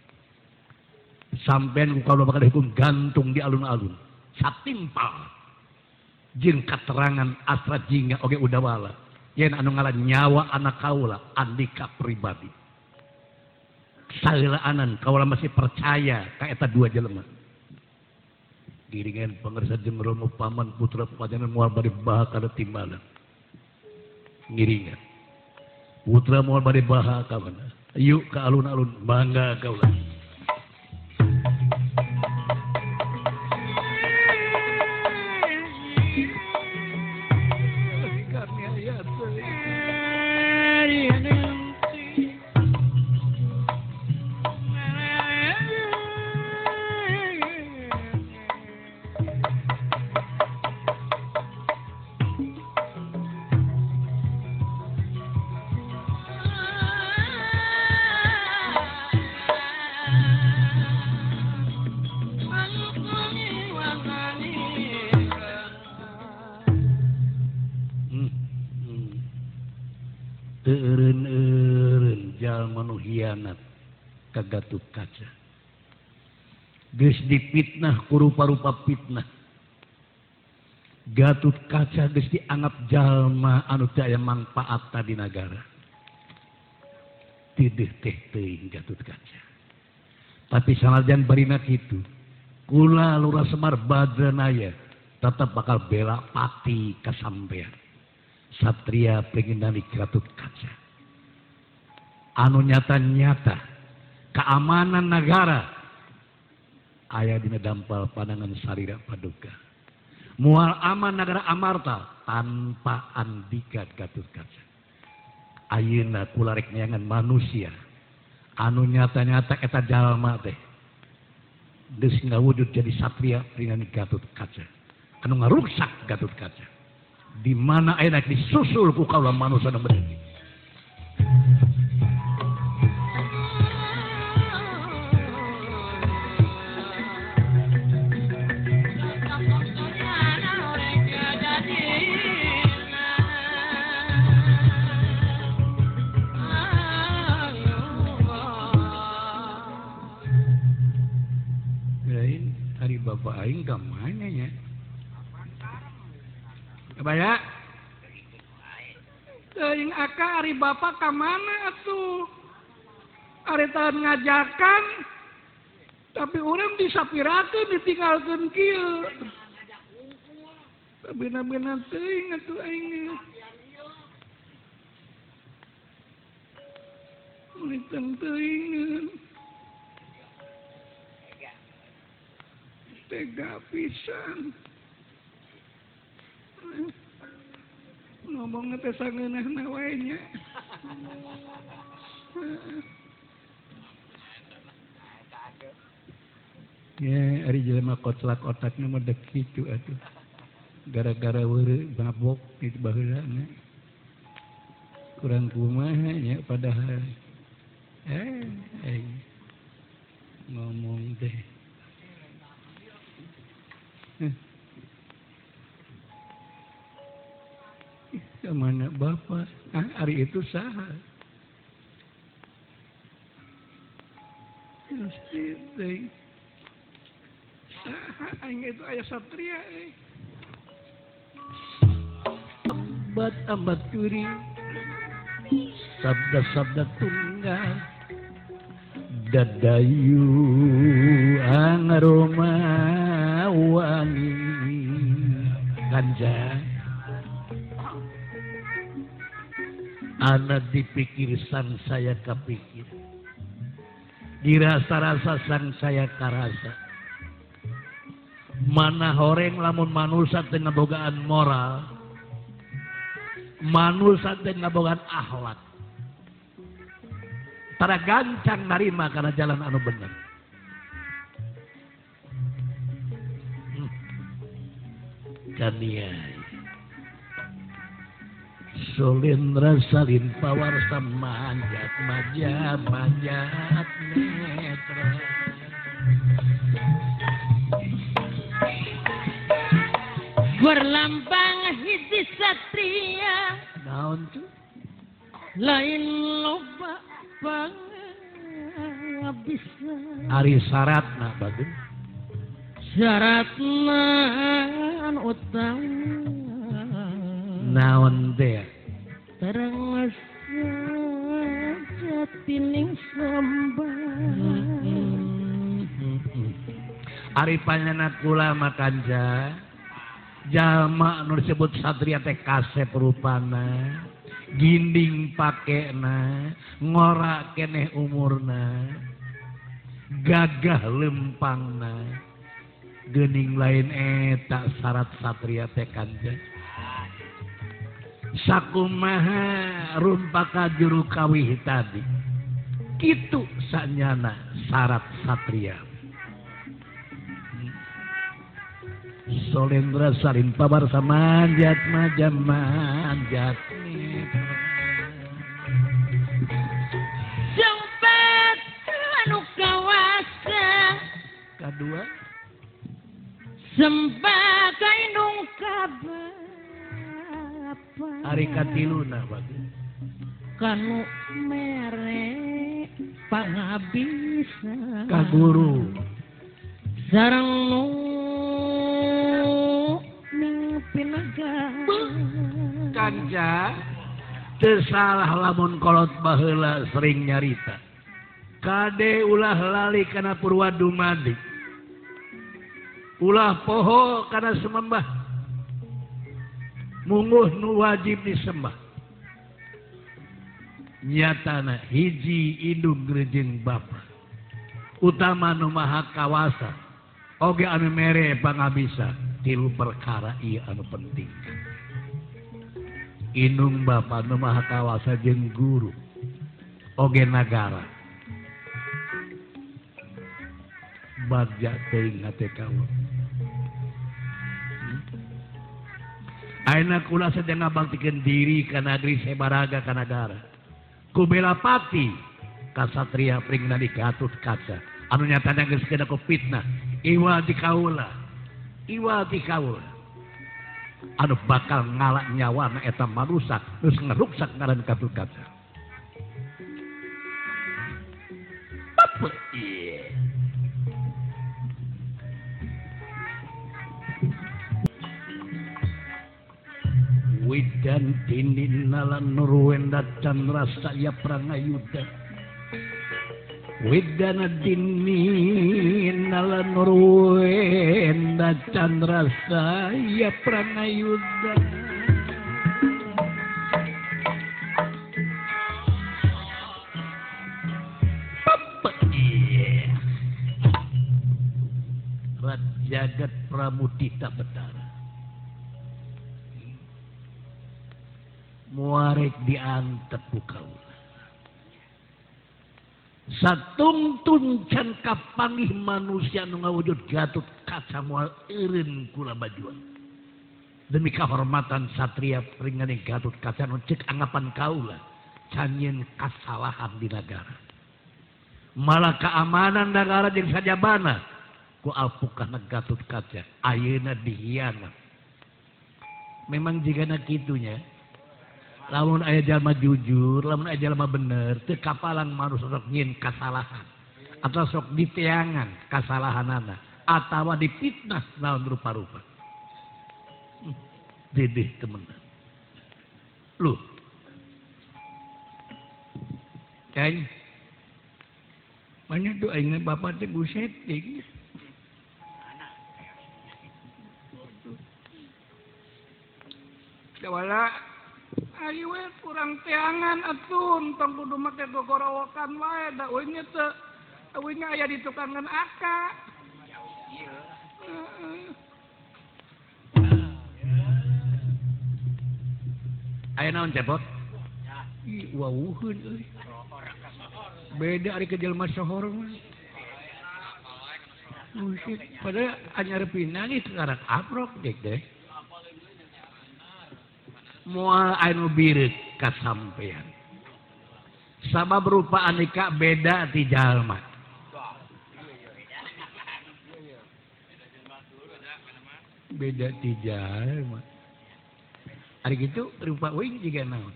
ku kaula bakal hukum gantung di alun-alun satimpal jeung katerangan asra jingga oge udawala yen anu ngalan nyawa anak kaula Andika pribadi salilaanan kaula masih percaya ka eta dua jelema giringan pangarsa jeung Romo paman putra pajanan moal bade baha kana timbalan ngiringan putra moal bade baha ka mana yuk ka alun-alun bangga kaula Eureun jalma nu hianat ka Gatot Kaca geus dipitnah ku rupa-rupa fitnah. Gatut Kaca geus dianggap jalma anu teu aya mangpaatna di nagara. Tideuh teh teuing Gatut Kaca. Tapi sanajan barina kitu, kula Lurah Semar Badranaya tetap bakal bela pati kasampean. Satria pengendali Gatut Kaca. Anu nyata-nyata keamanan negara aya dina dampal pandangan sarira paduka. Mual aman negara Amarta tanpa Andika Gatut Kaca. Ayeuna kula rek neangan manusia anu nyata-nyata eta jalma teh geus ngawujud jadi satria pringan Gatut Kaca. Anu ngaruksak Gatut Kaca. Di mana ayeuna disusul ku kaula manusia anu bener. Bapak aing ka mana nya? Kabaya? Teuing aka ari bapak ka mana atuh? Ari tahan ngajakan tapi urang disapirakeun ditinggalkeun kieu. Sabena-bena teuing atuh aing. Mulitang teuing. Tega pisan. Ngomongna teh sangeunahna wae nya. Ya, ari jelema kotlak otakna mah dek kitu atuh. Gara-gara weureu mabok di baheulana. Kurang kumaha nya padahal. Ngomong teh. Kemana bapak? Hari itu saha? Saha aing itu aya satria Abad kuri sabda-sabda tunggal dadayu angaroma wangi ganja anak dipikir sang saya kepikir dirasa-rasa sang saya karasa mana horeng lamun manusia teu ngabogaan moral manusia teu ngabogaan akhlak tara gancang narima karena jalan anu bener. Kaniai Solendra salin pawarsa manjat manjat netra berlambang hiji satria naon tuh lain loba bisa ari syaratna bagus syaratna utama naon teh terang jatining sembah ari panjenengan kula makanja jalma anu disebut satria teh kasep rupana ginding pakena ngorak keneh umurna gagah lempangna geuning lain eta syarat satria teh kanja sakumaha rumpaka juru kawih tadi kitu sanyana syarat satria. Solendra salin pawarsa manjat sempat anu kawasa kadua sempat kainung kabar ari katiluna bagus kanu mere pangabisa ka guru sareng nu ning pinaga kanca teu salah lamun kolot baheula sering nyarita kade ulah lali kana purwa dumadi ulah poho kana semembah mungguh nu wajib disembah nyatana hiji indung jeung bapa utama nu maha kawasa oge anu mere pangabisa tilu perkara ieu anu penting indung bapa nu maha kawasa jeung guru oge nagara bagja teuing hate kaula ayeuna kula sedang ngabaktikeun diri ka nagri sabaraga ka nagara ku bela pati kasatria pringna di Gatut Kaca anu nyatana geus kena ku fitnah iwa di kaula anu bakal ngalak nyawana eta manusa geus ngeruksak ngaran Gatut Kaca apa ieu Widan dinin nalan nurwenda candra saya prangayuda Widana dinin nalan nurwenda candra saya prangayuda Papa Rajagat Pramudita Betara muarek diantep ku kaula satungtun can kapanggih manusia nu ngawujud Gatut Kaca moal eureun kula bajuan demi kahormatan satria pringane Gatut Kaca nu ceuk anggapan kaula can nyeun kasalahan di nagara malah keamanan nagara jeung sajabana ku alpukahna Gatut Kaca ayeuna dihianat memang jigana kitunya lamun aya jalma jujur, lamun aya jalma bener, teu kapalan manusia sok nyieun kasalahan atau sok diteangan kasalahanana atawa dipitnah naon rupa-rupa. Dedeh temenan. Loh. Kain. Banyak doa ingat bapak teh buset deh. Dawala ayo we kurang teangan atun tong kudu make gogorowokan wae da euy teh euy aya di tukangan aka aya naon cepot ih wawuheun euy beda ari ke jelema sohor mah musik padahal anyar pinang itu karak aprok deh moal anu bireuk kasampean sabab rupa aneka beda ti jalma beda ti jalma ari kitu rupa wing jiga naon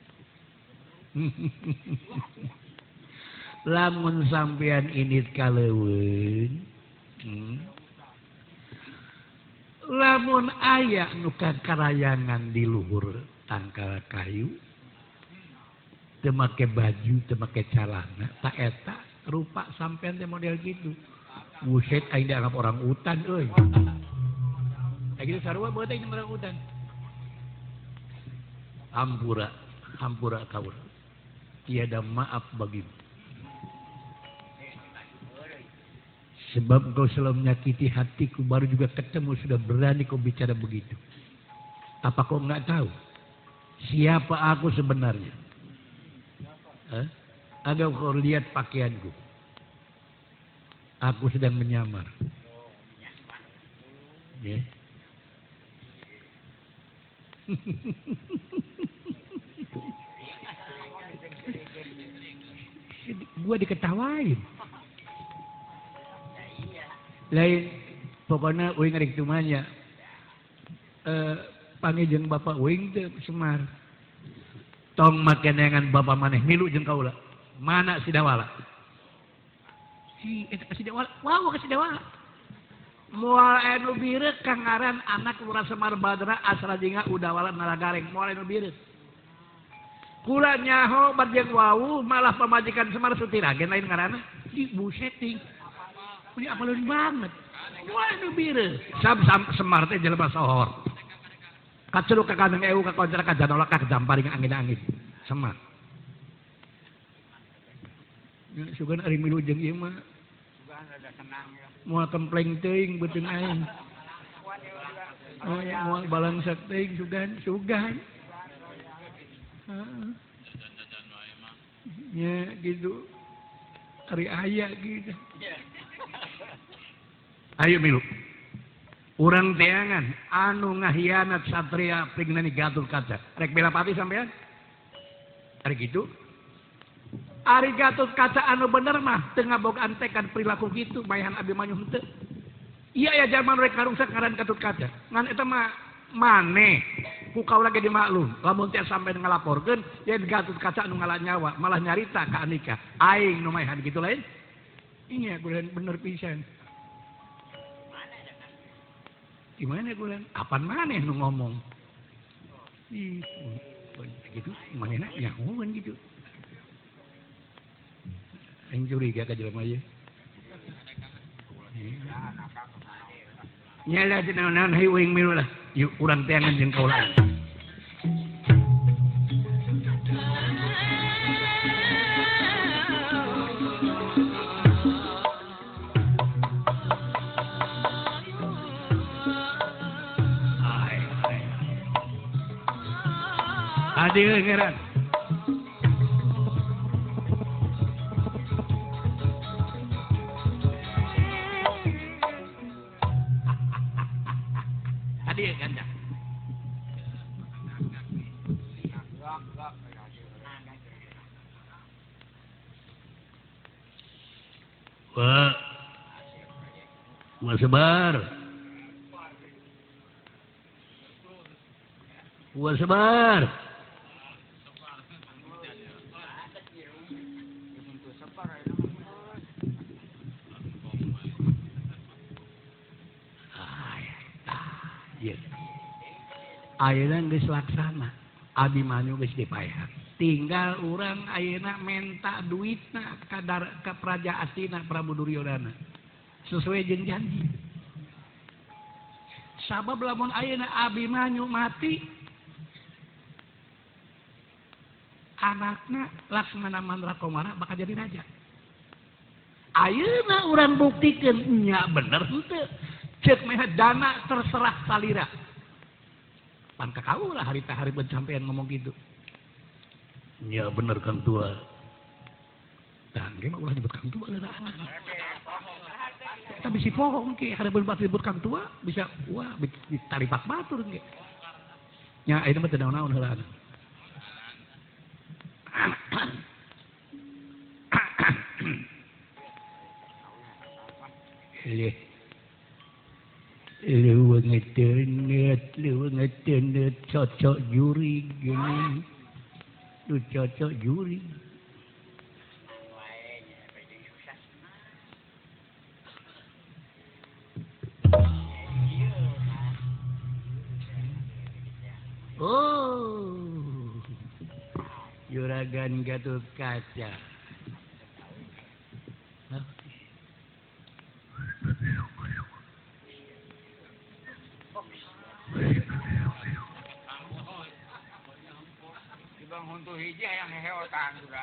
lamun sampean init kaleuweun lamun aya nu kakarayangan di luhur tangkal kayu teu make baju teu make calana tak eta rupa sampean teh model gitu buset aing dianggap orang utan euy kayak gitu sarua beut aing orang utan hampura kaula tiada maaf bagimu sebab engkau selalu menyakiti hatiku baru juga ketemu sudah berani kau bicara begitu. Apa kau enggak tahu siapa aku sebenarnya? Ada kau lihat pakaianku? Aku sedang menyamar. Ya. Gua diketawain. Lain pokoknya uing ngarek tumanya panggil jeung bapak uing teh Semar tong make neangan bapak maneh milu jeung kaula mana si Dawala si Dawala wow ka si Dawala Moal anu bireuk kangaran anak Lurah Semar Badra asal jinga udawala Naragareng moal anu bireuk. Kula nyaho badjeng wau malah pamajikan Semar Sutiragen lain ngaranna di busetting. Ini apaleun banget. Moal anu bireuk. Sam Semar teh jelema sohor. Kaceluk ka kandang ewu ka kontra ka janolak ka jamparing angin-angin. Semar. Ya sugan ari milu jeung ieu mah. Sugan rada senang ya. Moal templeng teuing beuteung aing. Moal balangsak teuing sugan. Heeh. Ya gitu. Ari aya gitu. Ayo milu. Urang teangan anu ngahianat satria pingnani Gatot Kaca. Rek bela pati sampean? Ari gitu. Ari Gatot Kaca anu bener mah teu ngabogaan tekad perilaku kitu bayahan Abimanyu henteu. Iya ya zaman rek karungsak ngaran Gatot Kaca. Ngan eta mah maneh ku kaula ge dimaklum. Lamun teh sampean ngalaporkeun yen Gatot Kaca anu ngalah nyawa malah nyarita ka Andika. Aing nu maehan kitu lain. Iya kulen bener pisan. Gimana gue apaan maneh nu ngomong gitu manehna ya ngomong gitu aing curiga ka jelema ieu nyala teh naon hayu uing milu lah yuk urang teangan jeung kaula Adi ngeran. Adi ganda. Wah sebar. Ayeuna geus laksana, Abimanyu geus dipaehan. Tinggal urang ayeuna menta duitna ka Praja Astina Prabu Duryodana. Sesuai jeung janji. Sabab lamun ayeuna Abimanyu mati, anakna Laksmana Mandrakomara bakal jadi raja. Ayeuna urang buktikeun nya bener henteu. Ceuk meh dana terserah salira. Pan kakau lah hari sampean ngomong gitu. Ya bener Kang Tua. Dan gimana ulah nyebut Kang Tua lah. Tapi si pohong ke hari berbat ribut Kang Tua bisa wah ditaripak batur ke. Ya ini mah teu naon-naon heula. Lu ngetenet, cocok juri gini. Lu cocok juri. Oh, Juragan Gatot Kaca. Ibang huntu hiji yang heheotan juga.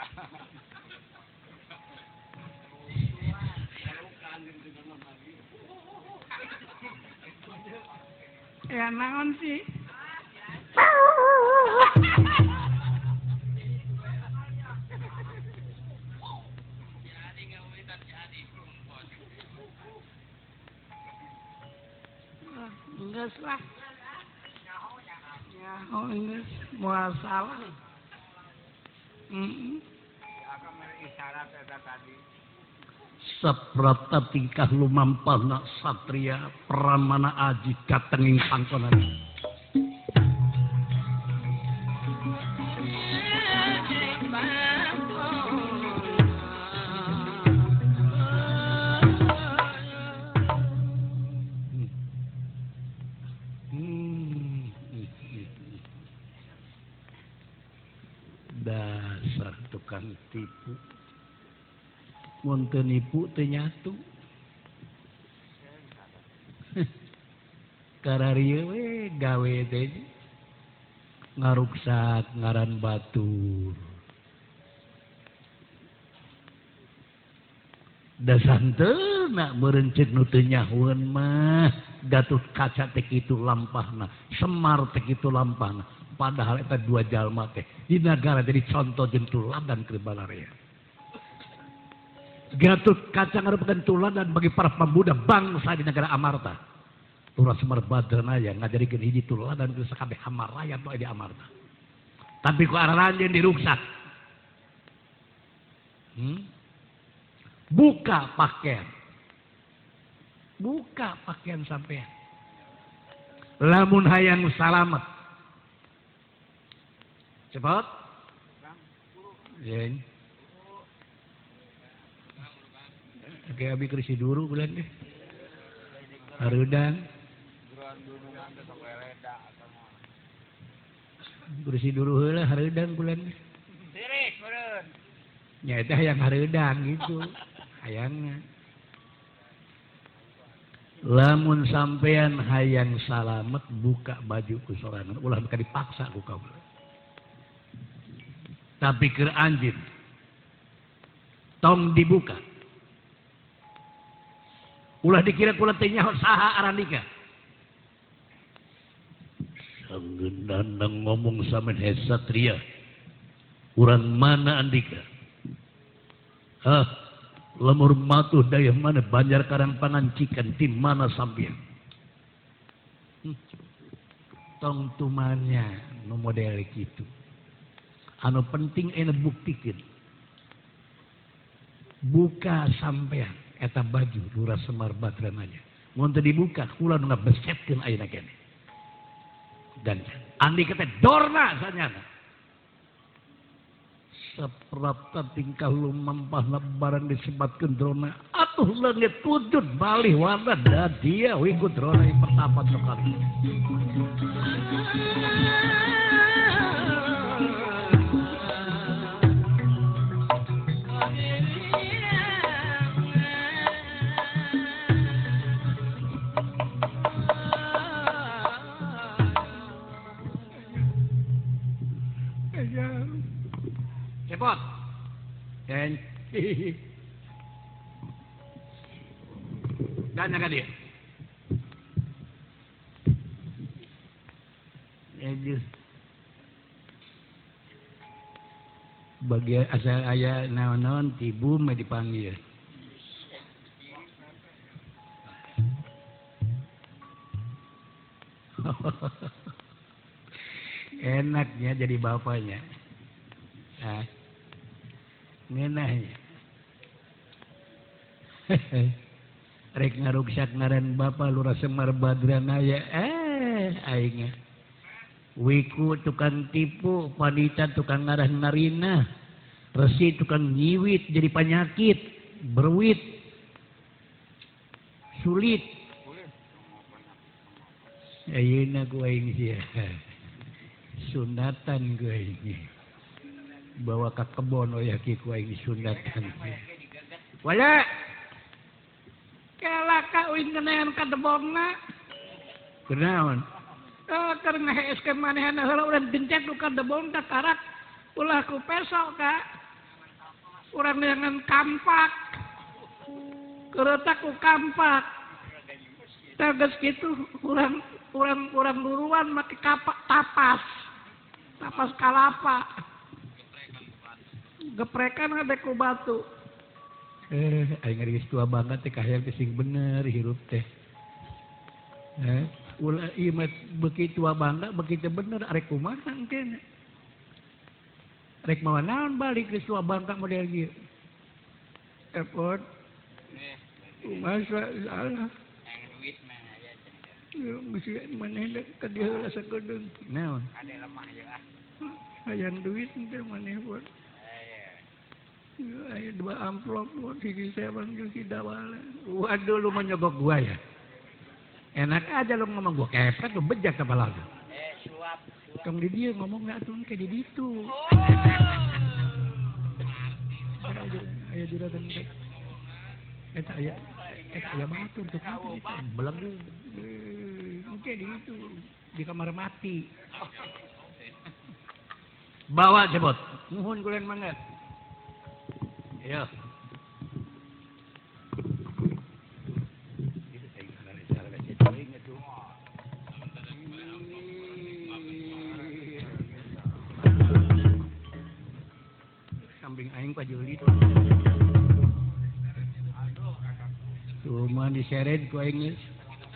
Ya naon sih? Enggak lah. Oh enggak, mual salah. Saprata tingkah lumampana satria pramana aji katenging pangkonan. tukang tipu. Mun teu nipu teu nyatu. Kararieu we gawe teh ngaruksak ngaran batur. Da santeuna meureun ceuk nu teu nyahoeun mah Gatot Kaca teh kitu lampahna, Semar teh kitu lampahna. Padahal eta dua jalma teh di negara jadi contoh jeung tuladan keur balarea. Gatot Kaca ngarupakeun tuladan bagi para pemuda bangsa di negara Amarta. Ulah Semar Badranaya ngajarikeun hiji tuladan keur sakabeh hamarayat nu aya di Amarta. Tapi ku araranjeun diruksak. Buka pakaian. Buka pakaian sampean. Lamun hayang salamet. Cepat. Yen. Oke, abi krisi dulu bulan deh. Hareudang. Krisi dulu heula hareudang bulan deh. Sirik meureun. Nya eta hayang hareudang gitu. Hayangna. Lamun sampean hayang salamet buka baju ku sorangan ulah buka dipaksa ku kaula. Tapi keur anjeun tong dibuka. Ulah dikira kula teh nyaho saha arandika. Sanggeunana ngomong samen he satria. Urang mana andika? Lemur matuh daya mana Banjar Karang Pangancikan di mana sampean? Tong tumanya nu model kitu. Anu penting ena buktikeun. Buka sampean eta baju Lurah Semar Badranaya. Mun teu dibuka kula nu ngabesetkeun ayeuna keneh. Dan andi teh dorna sanyana. Saprapta tingkah lumampahna barang disebatkeun drona atuh leungit wujud balih warna da dia we ku drona pertapat nu kali. Cepot. Dan jaga dia. Aduh. Bagian asal aya naon-naon tibu mah dipanggil. Enaknya jadi bapaknya. Ngenahnya. Rek ngaruksak ngaran Bapa Lurah Semar Badranaya. Aingnya. Wiku tukang tipu, Panita tukang ngarah narina. Resi tukang nyiwit jadi penyakit, berwit. Sulit. Ayeuna ku aing sia. Sunatan ku aing. Bawa ke kebon oyaki ku aing sunatan. Wala. Kelaka uing kenean ka debonna. Kenaon? Keur ngaheeskeun manehna heula urang gencet ka debon ka karak ulah ku pesok ka. Urang neangan kampak. Keretak ku kampak. Tegas kitu urang luruan make kapak tapas. Tapas kalapa. Geprekan ada ku batu. Aing geus tua banget teh kahayang teh sing bener hirup teh. Ulah ieu mah beuki tua bangga beuki teh bener arek kumaha engke. Rek mawa naon balik geus tua bangga model ieu. Epot. Masa salah. Yang duit mah aya cenah. Yo mesti maneh ka dieu heula sakedeung. Naon? Ade lemah jeung Hayang duit teh maneh buat. Ayo 2 amplop buat hiji sewan jeung si dawala. Waduh lu menyogok gua ya. Enak aja lu ngomong gua kepet lu bejak kepala lu. suap. Tong di dieu ngomong atuh ke di ditu. aya juragan teh. Eta aya batur tuh. Belang Oke di itu di kamar mati. bawa cepot. Nuhun kulen mangga. Ya. Samping aing Pak Juli tuh. Cuma diseret ku aing geus.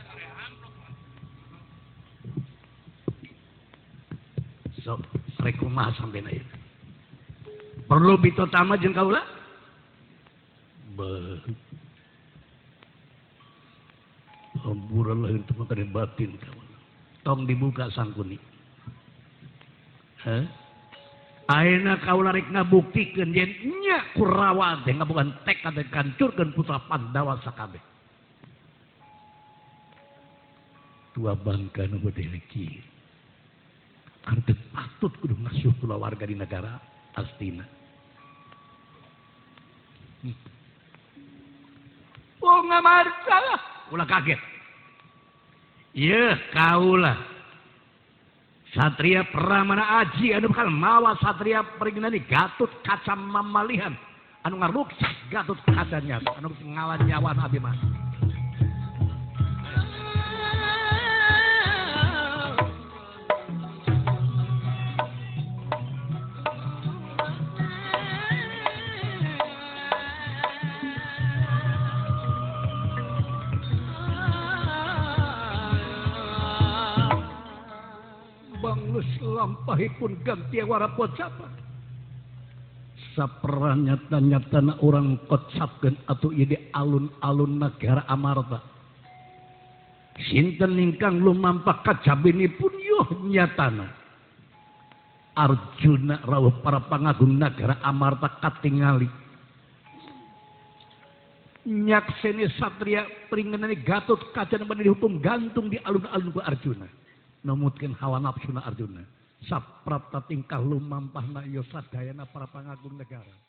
Sok, rek kumaha sampeyan ieu. Perlu pitotama jeung kaula? Beuh. Hamburan lahir teu kada batin kawan. Tong dibuka sangkuni. Hah? Ayeuna kaula rek ngabuktikeun yen nya Kurawa teh ngabukan tekad kancurkeun putra Pandawa sakabeh. Tua bangka nu beuti leki. Anu patut kudu ngasuh kulawarga di negara Astina. Oh ngamarta lah. Ulah kaget. Yeuh kaula. Satria Pramana Aji anu bakal mawa satria peringinani Gatut Kaca Mamalihan anu ngaruksak Gatut Kacanya anu ngawan nyawan abi mah. Banglus lampahipun ganti warapot siapa? Saperanya nyatana orang kocapkeun atuh ieu di alun-alun negara Amarta. Sinten ingkang lumampah kacabinipun yuh nyatana. Arjuna rawuh para pangagung negara Amarta katingali. Nyakseni satria peringenani Gatut Kaca nu dihukum gantung di alun-alun ku Arjuna. Numutkeun hawa nafsuna Arjuna. Saprapta tingkah lumampahna ieu sadayana para pangagung negara.